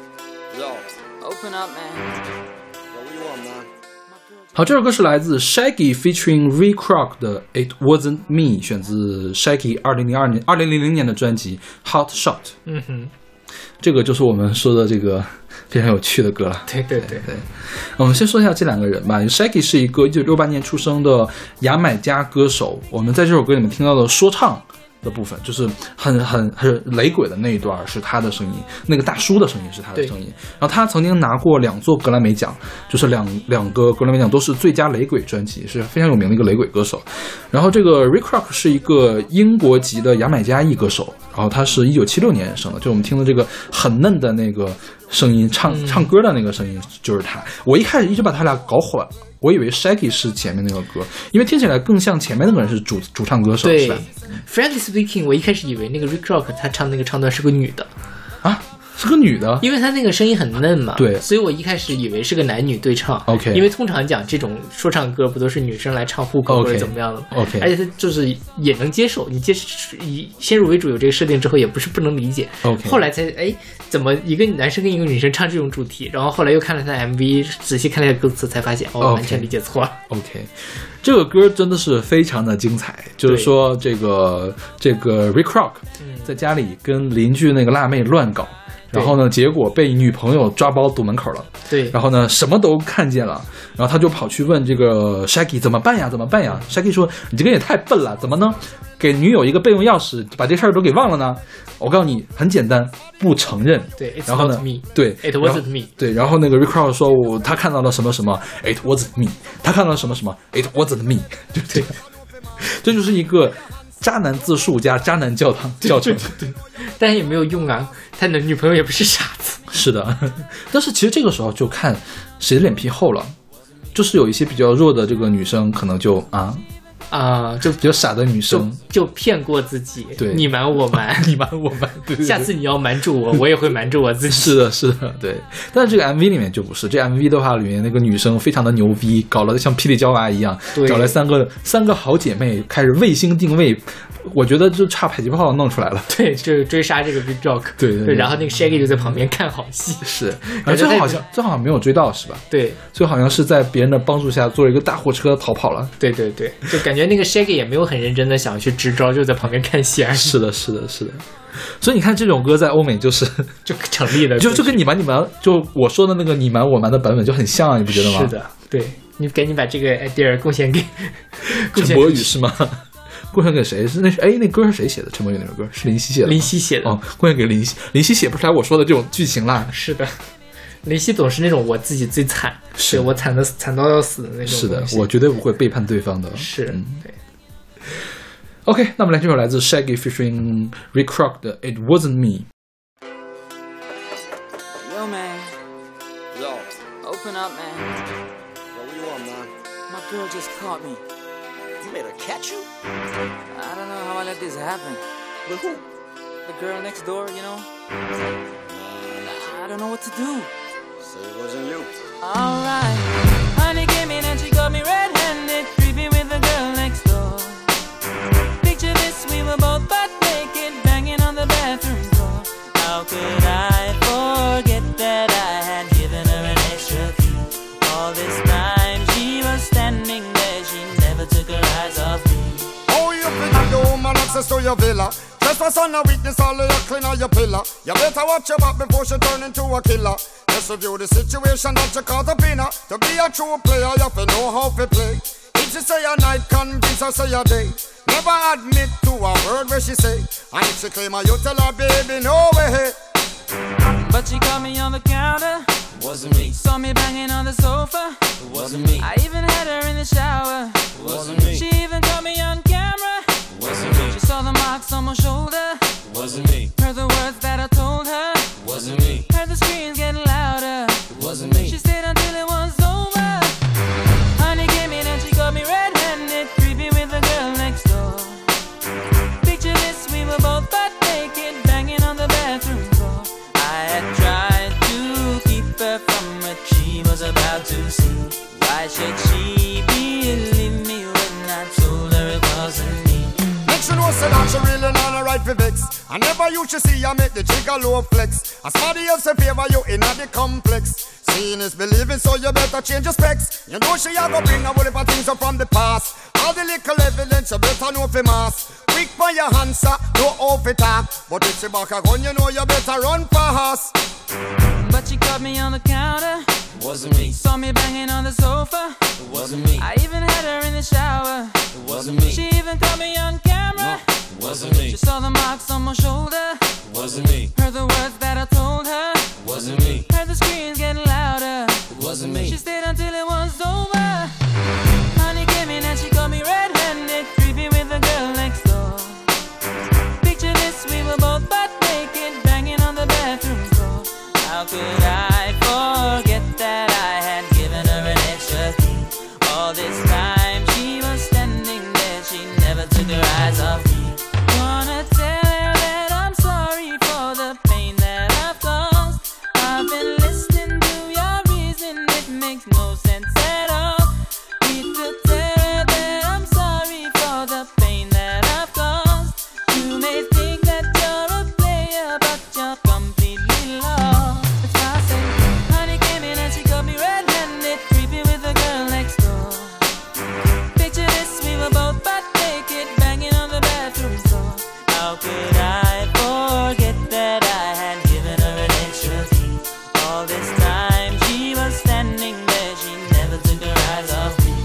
S6: Yo,
S5: Open up, man.
S6: what do you want, man?
S2: 好，这首歌是来自 Shaggy featuring Ray Kroc 的 It Wasn't Me， 选自 Shaggy 2000年的专辑 Hot Shot。
S1: 嗯哼，
S2: 这个就是我们说的这个非常有趣的歌了。
S1: 对对对，
S2: 我们先说一下这两个人吧。Shaggy 是一个1968年出生的牙买加歌手，我们在这首歌里面听到的说唱的部分，就是很雷鬼的那一段是他的声音，那个大叔的声音是他的声音。然后他曾经拿过2座格莱美奖，就是两个格莱美奖都是最佳雷鬼专辑，是非常有名的一个雷鬼歌手。然后这个 Ray Kroc 是一个英国籍的牙买加裔歌手，然后他是1976年生的，就我们听的这个很嫩的那个声音，唱歌的那个声音就是他。我一开始一直把他俩搞混了。我以为 Shaggy 是前面那个歌，因为听起来更像前面那个人是主唱歌手，
S1: 对
S2: 是吧
S1: Frankly speaking， 我一开始以为那个 Ray Kroc 他唱那个唱段是个女的，
S2: 啊，是个女的，
S1: 因为他那个声音很嫩嘛，
S2: 对
S1: 所以我一开始以为是个男女对唱。
S2: OK
S1: 因为通常讲这种说唱歌不都是女生来唱副歌
S2: OK
S1: 或者怎么样的吗
S2: OK
S1: 而且他就是也能接受，你以先入为主有这个设定之后，也不是不能理解。
S2: OK
S1: 后来才怎么一个男生跟一个女生唱这种主题，然后后来又看了他的 MV， 仔细看了一下歌词，才发现
S2: OK
S1: 完全理解错了。
S2: OK， 这个歌真的是非常的精彩，就是说这个 Ray Kroc 在家里跟邻居那个辣妹乱搞，然后呢，结果被女朋友抓包堵门口了。
S1: 对，
S2: 然后呢，什么都看见了，然后他就跑去问这个 Shaggy 怎么办呀？怎么办呀 ？Shaggy 说：“你这个也太笨了，怎么能给女友一个备用钥匙，把这事儿都给忘了呢？”我告诉你，很简单，不承认。
S1: 对，
S2: 然后呢
S1: It's not me，
S2: 对
S1: ，It wasn't me。
S2: 对，然后那个 Ray Kroc 说，他看到了什么什么 ，It wasn't me。他看到了什么什么 ，It wasn't me。对不对？这就是一个渣男自述加渣男教程。
S1: 对，但是也没有用啊，他的女朋友也不是傻子。
S2: 是的，但是其实这个时候就看谁的脸皮厚了，就是有一些比较弱的这个女生，可能就
S1: 就
S2: 比较傻的女生
S1: 就骗过自己，
S2: 对
S1: 你瞒我瞒，
S2: 你瞒我瞒，对对对
S1: 下次你要瞒住我，我也会瞒住我自己。
S2: 是的，是的，对。但是这个 MV 里面就不是，这 MV 的话里面那个女生非常的牛逼，搞了像霹雳娇娃一样，
S1: 对
S2: 找来三个好姐妹，开始卫星定位，我觉得就差迫击炮弄出来了。
S1: 对，就是追杀这个 Big Jock，
S2: 对
S1: 然后那个 Shaggy 就在旁边看好戏。
S2: 是，而最后好像没有追到，是吧？
S1: 对，
S2: 最后好像是在别人的帮助下坐了一个大货车逃跑了。
S1: 对，就感觉那个 Shaggy 也没有很认真的想去支招，就在旁边看戏而已。
S2: 是的。所以你看这种歌在欧美就是
S1: 就成立了，
S2: 就跟你瞒就我说的那个你瞒我瞒的版本就很像啊，你不觉得吗？
S1: 是的，对，你赶紧把这个 idea 贡献给
S2: 陈柏宇是吗？贡献给谁？是那歌是谁写的？陈柏宇那首歌是林夕写的。
S1: 林夕写的
S2: 哦，贡献给林夕。林夕写不出来我说的这种剧情啦。
S1: 是的， 林夕总是那种我自己最惨，
S2: 是
S1: 我惨到要死的那种。
S2: 是的，我绝对不会背叛对方的。
S1: 是，对。
S2: OK， 那我们来这首来自 Shaggy featuring Rick Rock 的 It Wasn't Me。
S5: Yo, man.
S6: Yo,
S5: Open up, man.
S6: what you want, man?
S5: My girl just caught me.
S6: You made her catch you?
S5: I don't know how I let this happen.
S6: With who?
S5: The girl next door, you know? I don't know what to do.
S6: Say it wasn't you.
S5: Alright. Honey came in and she got me red-handed, creepy with the girl next door. Picture this, we were both butt naked, banging on the bathroom floor. How could I forget that I had given her an extra key? All this time she was standing there, she never took her eyes off me.
S7: Oh, you figure the woman access to your villa. Trespass on a weakness, all of your clean on your pillar. You better watch your back before she turn into a killer. Just review the situation that you caught up in her. To be a true player, you have to know how to play. If she say a night, convince her say a day. Never admit to a word where she say. And if she claim her, you tell her, baby, no way.
S5: But she caught me on the counter.
S8: Wasn't me.
S5: Saw me banging on the sofa.
S8: Wasn't me.
S5: I even had her in the shower.
S8: Wasn't me.
S5: She even caught me on camera.
S8: Wasn't me.
S5: She saw the marks on my shoulder.
S8: Wasn't me.
S5: Heard the words that I told her.
S8: Wasn't me.
S5: Heard the screams getting louder.
S8: Wasn't me.
S5: She stayed until it was over. Honey came in and she got me red-handed, creepy with the girl next door. Picture this, we were both butt naked, banging on the bathroom floor. I had tried to keep her from what she was about to see. Why should she believe me when I told her it wasn't me?
S7: Make she know say that she really not a right for vex. I never you should see her make the jigger low flex. As somebody else in favor you in the complex. Seeing is believing, so you better change your specs. You know she a go bring a whole heap of things up from the past. All the little evidence you better know for mass. Quick for your answer, no off it talk. But if she back a gun, you know you better run fast.
S5: But she caught me on the counter.
S8: Wasn't me.
S5: Saw me banging on the sofa.
S8: It wasn't me.
S5: I even had her in the shower.
S8: It wasn't me.
S5: She even caught me on camera.
S8: It wasn't me.
S5: She saw the marks on my shoulder.
S8: It wasn't me.
S5: Heard the words that I told her.
S8: It wasn't me.
S5: Heard the screams getting louder.
S8: It wasn't me.
S5: She stayed until it was over. Honey came in and she got me red-handed, creepy with the girl next door. Picture this, we were both butt naked, banging on the bathroom floor. How could I forget that I had given her an extra key? All this time she was standing there, she never took her eyes off me. Wanna tell her that I'm sorry for the pain that I've caused. I've been listening to your reason, it makes no sense at all. Need to tell her that I'm sorry for the pain that I've caused. You may think that you're a player, but you're completely lost. That's why I say, honey came in and she got me red-handed, creepy with the girl next door. Picture this, we were both butt naked, banging on the bathroom floor. How could I forget that I had given her an extra key? All this time she was standing there, she never took her eyes off me.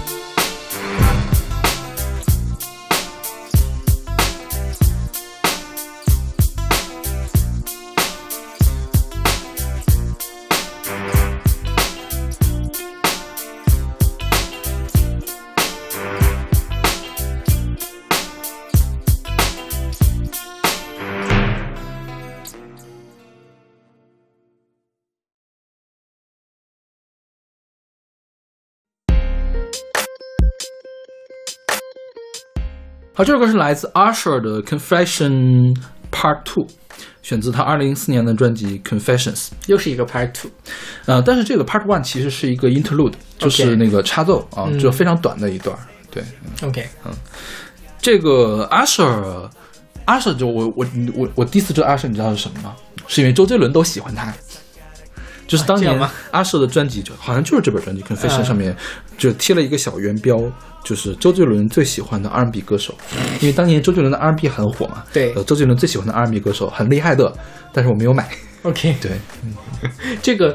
S2: 好，这首歌是来自 Usher 的 Confession Part 2， 选自他2004年的专辑 Confessions。
S1: 又是一个 Part 2。
S2: 但是这个 Part 1其实是一个 interlude， 就是那个插奏啊，就非常短的一段。对
S1: OK，
S2: 这个 Usher 就我第一次知道 Usher， 你知道是什么吗？是因为周杰伦都喜欢他。就是当年 Usher 的专辑，就好像就是这本专辑 Confession 上面就贴了一个小圆标，就是周杰伦最喜欢的 R&B 歌手。因为当年周杰伦的 R&B 很火嘛，
S1: 对，
S2: 周杰伦最喜欢的 R&B 歌手很厉害的，但是我没有买。
S1: OK，
S2: 对，
S1: 这个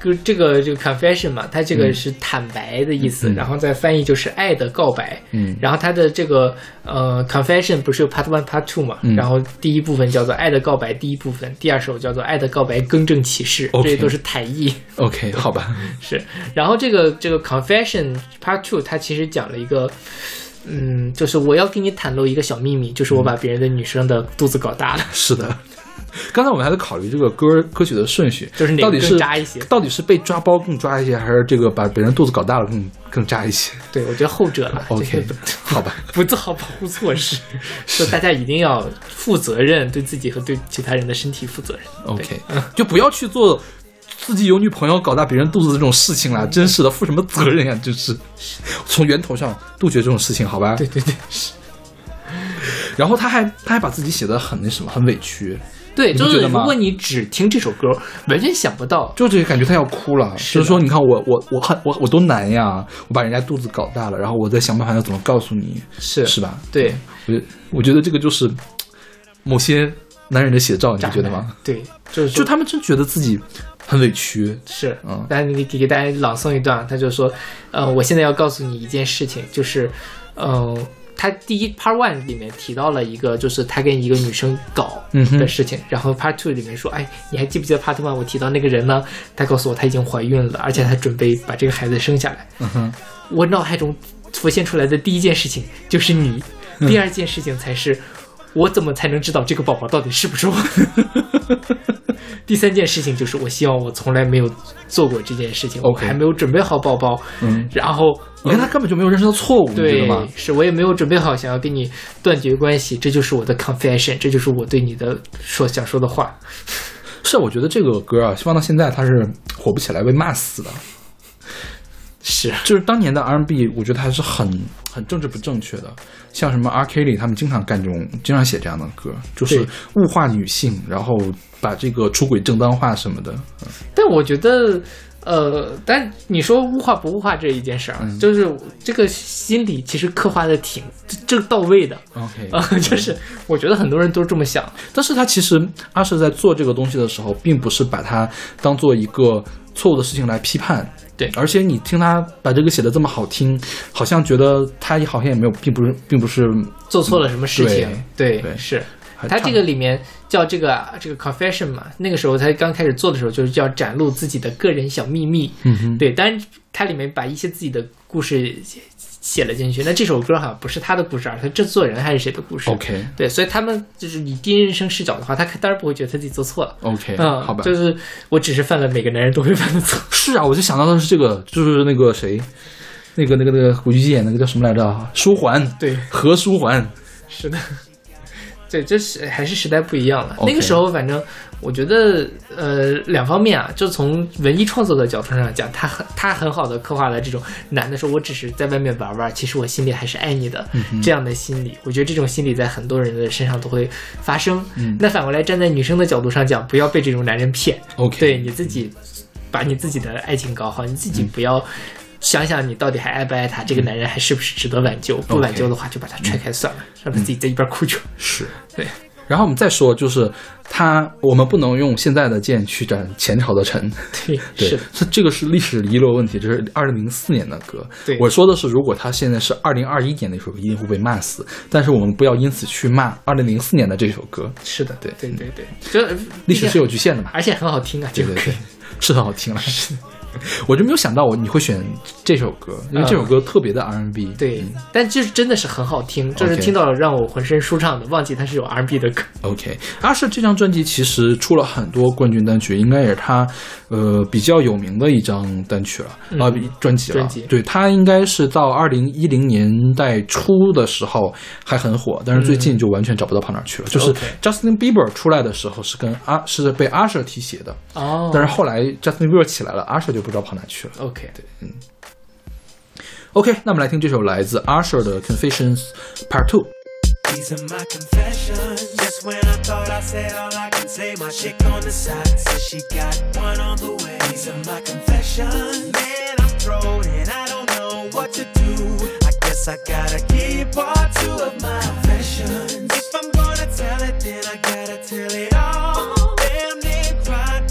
S1: confession 嘛，它这个是坦白的意思，然后再翻译就是爱的告白。然后它的这个confession 不是有 part 1 part 2嘛，然后第一部分叫做爱的告白第一部分，第二首叫做爱的告白更正启示，这些都是台译。
S2: OK， 好吧。
S1: 是，然后这个 confession part 2 它其实讲了一个。就是我要跟你袒露一个小秘密，就是我把别人的女生的肚子搞大了。
S2: 是的，刚才我们还在考虑这个歌曲的顺序，
S1: 就是哪个更渣一些？
S2: 到底是被抓包更渣一些，还是这个把别人肚子搞大了更渣一些？
S1: 对，我觉得后者了。
S2: OK， 好吧，
S1: 不做好保护措施，说大家一定要负责任，对自己和对其他人的身体负责任。
S2: OK， 就不要去做自己有女朋友搞大别人肚子的这种事情啦，真是的，负什么责任呀？真是从源头上杜绝这种事情，好吧？
S1: 对对对，是。
S2: 然后他还把自己写得很那什么，很委屈。
S1: 对，就是如果你只听这首歌，完全想不到，
S2: 就这个感觉他要哭了。就是说，你看我多难呀！我把人家肚子搞大了，然后我再想办法要怎么告诉你，是吧？
S1: 对，
S2: 我觉得这个就是某些男人的写照，你觉得吗？
S1: 对，就
S2: 他们真觉得自己很委屈。
S1: 是，但你给大家朗诵一段，他就说，我现在要告诉你一件事情，就是，他第一 part 1里面提到了一个，就是他跟一个女生搞的事情，然后 part 2里面说，哎，你还记不记得 part 1我提到那个人呢？他告诉我他已经怀孕了，而且他准备把这个孩子生下来。我脑海中浮现出来的第一件事情就是你，第二件事情才是我怎么才能知道这个宝宝到底是不是我。第三件事情就是我希望我从来没有做过这件事情，我还没有准备好宝宝。然后
S2: 你看他根本就没有认识到错误，
S1: 对，
S2: 你知道吗？
S1: 是我也没有准备好想要跟你断绝关系，这就是我的 confession， 这就是我对你的想说的话。
S2: 是，我觉得这个歌啊，放到现在它是火不起来，被骂死的。
S1: 是，
S2: 就是当年的 R&B， 我觉得还是很政治不正确的。像什么 R. Kelly 他们经常写这样的歌，就是物化女性，然后把这个出轨正当化什么的。
S1: 但我觉得，但你说物化不物化这一件事儿，就是这个心理其实刻画的挺到位的。
S2: OK，
S1: 就是我觉得很多人都这么想，
S2: 但是他其实阿舍在做这个东西的时候，并不是把它当做一个错误的事情来批判。
S1: 对，
S2: 而且你听他把这个写的这么好听，好像觉得他好像也没有，并不是
S1: 做错了什么事情。对，是他这个里面叫这个 confession 嘛，那个时候他刚开始做的时候就是叫展露自己的个人小秘密。对，当然他里面把一些自己的故事写了进去。那这首歌好像不是他的故事，而是制作人还是谁的故事。
S2: OK，
S1: 对，所以他们就是以第一人称视角的话，他当然不会觉得他自己做错了。
S2: OK， 好吧，
S1: 就是我只是犯了每个男人都会犯的错。
S2: 是啊，我就想到的是这个，就是那个谁，那个古巨基演那个叫什么来着？舒缓，
S1: 对，
S2: 何舒缓。是
S1: 的。对，这是还是时代不一样了。那个时候，反正我觉得，两方面啊，就从文艺创作的角度上讲，他很好的刻画了这种男的说我只是在外面玩玩，其实我心里还是爱你的，这样的心理。我觉得这种心理在很多人的身上都会发生。那反过来站在女生的角度上讲，不要被这种男人骗。
S2: OK，
S1: 对，你自己把你自己的爱情搞好，你自己不要。想想你到底还爱不爱他，这个男人还是不是值得挽救？不挽救的话，就把他踹开算了，让他自己在一边哭去。
S2: 是，
S1: 对。
S2: 然后我们再说，就是我们不能用现在的剑去斩前朝的臣。
S1: 对，
S2: 是这个是历史遗留问题，这是2004年的歌。
S1: 对，
S2: 我说的是，如果他现在是2021年的一首歌，一定会被骂死。但是我们不要因此去骂2004年的这首歌。
S1: 是的，
S2: 对，
S1: 这
S2: 历史是有局限的嘛，
S1: 而且很好听啊，
S2: 对，是很好听了。我就没有想到你会选这首歌，因为这首歌特别的 R&B。
S1: 对，但就是真的是很好听，就是听到了让我浑身舒畅的，忘记它是有 R&B 的歌。
S2: OK， 阿舍这张专辑其实出了很多冠军单曲，应该也是他比较有名的一张单曲了专辑了。对，他应该是到2010年代初的时候还很火，但是最近就完全找不到跑哪去了。就是 Justin Bieber 出来的时候是被阿舍提携的，但是后来 Justin Bieber 起来了，阿舍就不知道跑哪去了。
S1: OK，
S2: 对，OK， 那我们来听这首来自 Usher 的 Confessions Part 2。
S4: These are my confessions. Just when I thought I said all I can say, my chick on the side says she got one on the way. These are my confessions. Man, I'm thrown and I don't know what to do. I guess I gotta give part 2 of my confessions. If I'm gonna tell it, then I gotta tell it all. Damn, they cried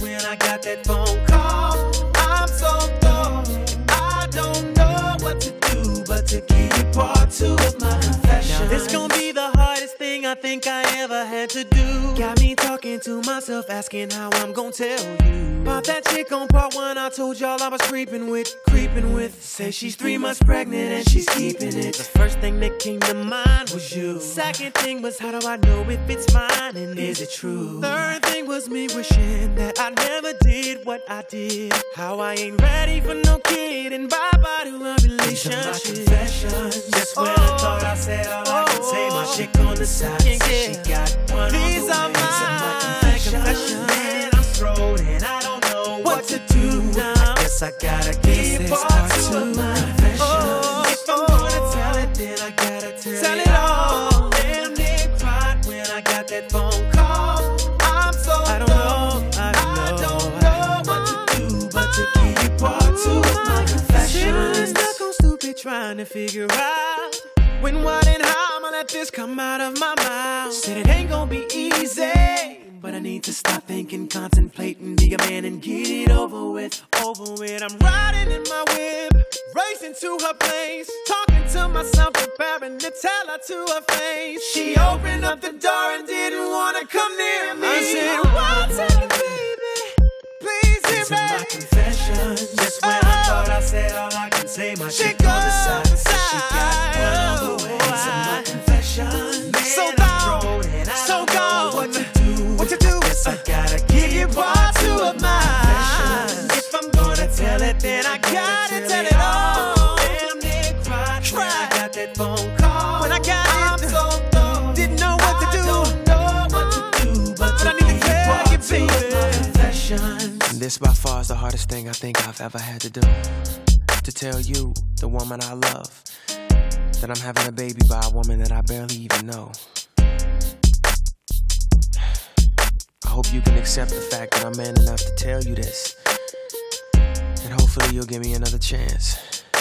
S4: think I ever had to do. Got me talking to myself, asking how I'm gonna tell you about that chick on part 1 I told y'all I was creeping with. Say she's 3 months pregnant and she's keeping it. The first thing that came to mind was you. Second thing was, how do I know if it's mine and is it true? Third thing was me wishing that I never did what I did. How I ain't ready for no kid and bye-bye to a relationship. These are my confessions. Just when I thought I said all I can say, my chick on the side said she got one. These are my confessions. Man, I'm thrown and I don't know what to do now. I guess I gotta give part 2 of my confessions. If I'm gonna tell it, then I gotta tell it all. Damn, they cried when I got that phone call. I'm so I don't know what to do but to give you part 2 of my confessions. I'm stuck on stupid trying to figure out when, what, and how I'ma let this come out of my mouth. Said it ain't gonna be easy, but I need to stop thinking, contemplating, be a man and get it over with. I'm riding in my whip, racing to her place, talking to myself, preparing to tell her to her face. She opened up the door and didn't want to come near me. I said, what's up, baby? Please hear me. These are my confessions. Just when I thought I said all I can say, my chick on the side said she got one on the way. These are my confessions. Man, so gone, so gone. What to do? Guess I gotta give you part 2 of mine. If I'm gonna tell it, then I gotta tell it all. Damn, they cried when I got that phone call. When I got it, I'm so dumb, didn't know what to do. Don't know what to do, but I need to tell you, baby. Confessions.
S9: And this by far is the hardest thing I think I've ever had to do. To tell you, the woman I love, that I'm having a baby by a woman that I barely even know. I hope you can accept the fact that I'm man enough to tell you this. And hopefully you'll give me another chance.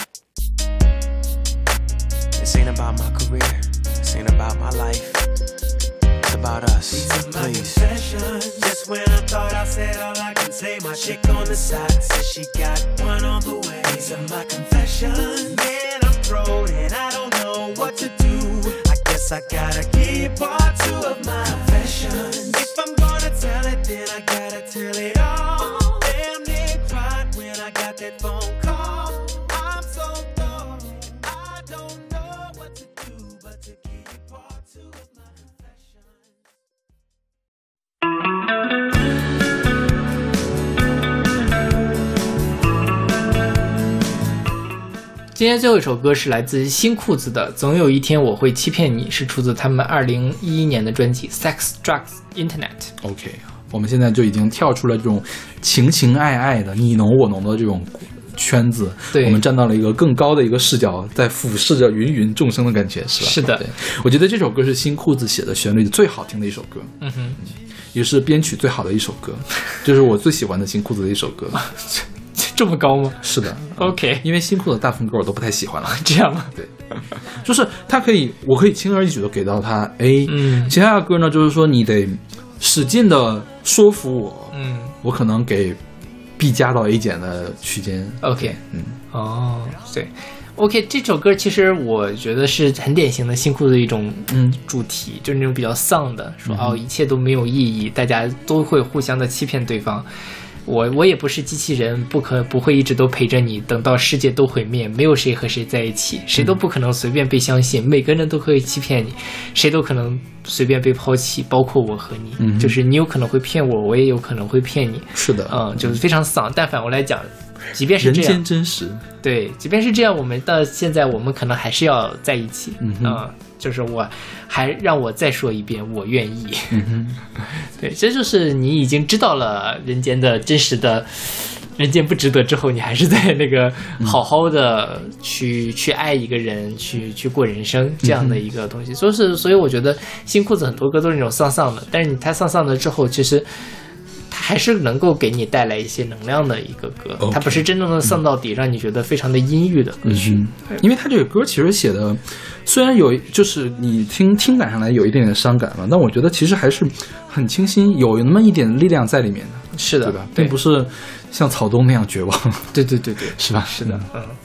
S9: This ain't about my career. This ain't about my life. It's about us.
S4: These are my
S9: Please.
S4: confessions. Just when I thought I said all I can say, my chick on the side said she got one on the way. These are my confessions. Man, I'm thrown and I don't know what to do. I guess I gotta give part 2 of my confessions. If I'm gonna tell it, then I gotta tell it all. Damn, they cried when I got that phone call. I'm so dumb, I don't know what to do but to give you part 2 of my confessions.
S1: 今天最后一首歌是来自新裤子的《总有一天我会欺骗你》，是出自他们2011年的专辑《Sex Drugs Internet》。
S2: OK， 我们现在就已经跳出了这种情情爱爱的你侬我侬的这种圈子，
S1: 对，
S2: 我们站到了一个更高的一个视角，在俯视着芸芸众生的感觉，是吧？
S1: 是的，
S2: 对，我觉得这首歌是新裤子写的旋律最好听的一首歌，也是编曲最好的一首歌，这是我最喜欢的新裤子的一首歌。
S1: 这么高吗？
S2: 是的
S1: ，OK，
S2: 因为新裤子大部分歌我都不太喜欢了，
S1: 这样吗？
S2: 对，就是它可以，我可以轻而易举的给到它 A，其他的歌呢，就是说你得使劲的说服我，我可能给 B 加到 A 减的区间
S1: ，OK， 对。OK， 这首歌其实我觉得是很典型的新裤子的一种主题，就是那种比较丧的，说一切都没有意义，大家都会互相的欺骗对方。我也不是机器人，不会一直都陪着你，等到世界都毁灭，没有谁和谁在一起，谁都不可能随便被相信，每个人都可以欺骗你，谁都可能随便被抛弃，包括我和你，就是你有可能会骗我，我也有可能会骗你。
S2: 是的，
S1: 就是非常丧。但反过来讲，即便是这样，
S2: 人间真实，
S1: 对，即便是这样，我们到现在我们可能还是要在一起，就是我还让我再说一遍，我愿意。对，这就是你已经知道了人间的真实的，人间不值得之后，你还是在那个好好的去爱一个人，去过人生这样的一个东西。所以我觉得新裤子很多歌都是那种丧丧的，但是他丧丧的之后，其实它还是能够给你带来一些能量的一个歌，它不是真正的丧到底，让你觉得非常的阴郁的歌曲。
S2: 因为它这个歌其实写的，虽然有就是你听感上来有一点点伤感嘛，但我觉得其实还是很清新，有那么一点力量在里面的。
S1: 是的，
S2: 对吧？并不是像草东那样绝望。
S1: 对，
S2: 是吧？
S1: 是的，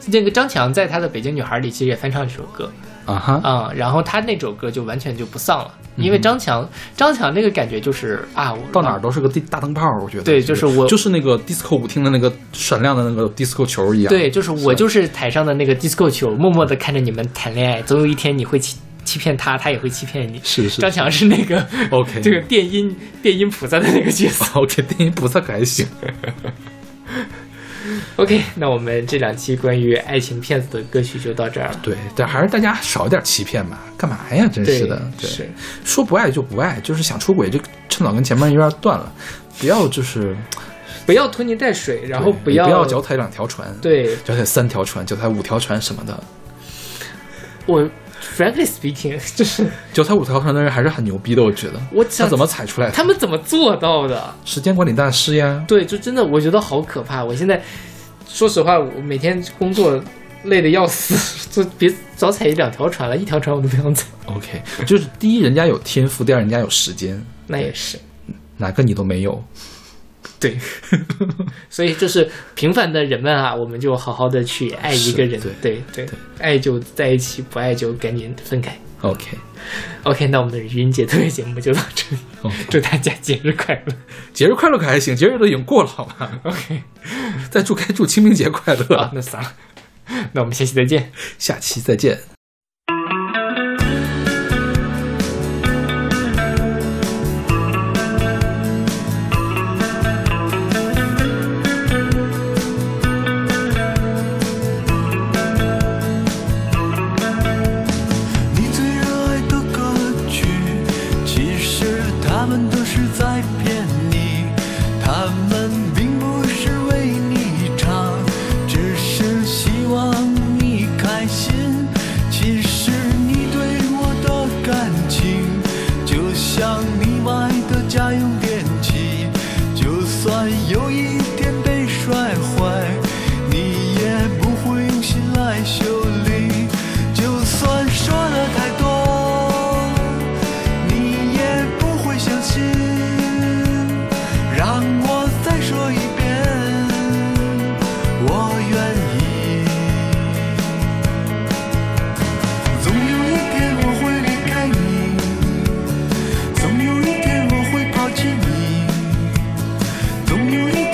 S1: 那个张强在他的《北京女孩》里其实也翻唱这首歌
S2: 啊哈
S1: 然后他那首歌就完全就不丧了，因为张强那个感觉就是啊，我
S2: 到哪儿都是个大灯泡，我觉得
S1: 对，就是我
S2: 就是那个 disco 舞厅的那个闪亮的那个 disco 球一样，
S1: 对，就是我就是台上的那个 disco 球，默默的看着你们谈恋爱，总有一天你会欺骗他，他也会欺骗你。
S2: 是
S1: 张强是那个
S2: OK
S1: 这个电音菩萨的那个角色。
S2: OK， 电音菩萨可还行。
S1: OK， 那我们这2期关于爱情骗子的歌曲就到这儿了。
S2: 对，但还是大家少一点欺骗吧，干嘛呀？真是的，对，
S1: 是
S2: 说不爱就不爱，就是想出轨就趁早跟前面有点断了，不要
S1: 不要拖泥带水，然后不
S2: 要脚踩2条船，
S1: 对，
S2: 脚踩3条船，脚踩5条船什么的。
S1: 我 frankly speaking， 就是
S2: 脚踩5条船的人还是很牛逼的，我觉得。他怎么踩出来的？
S1: 他们怎么做到的？
S2: 时间管理大师呀。
S1: 对，就真的我觉得好可怕。我现在说实话，我每天工作累得要死，就别早踩1-2条船了，1条船我都不想踩。
S2: OK， 就是第一人家有天赋，第二人家有时间，
S1: 那也是，
S2: 哪个你都没有。
S1: 对，所以就是平凡的人们啊，我们就好好的去爱一个人，对，爱就在一起，不爱就赶紧分开。OK， 那我们的愚人节特别节目就到这里，祝大家节日快乐！
S2: 节日快乐可还行，节日都已经过了，好吗
S1: ？OK，
S2: 该祝清明节快乐。
S1: 好，那算了，那我们下期再见，
S2: 下期再见。
S10: 总有一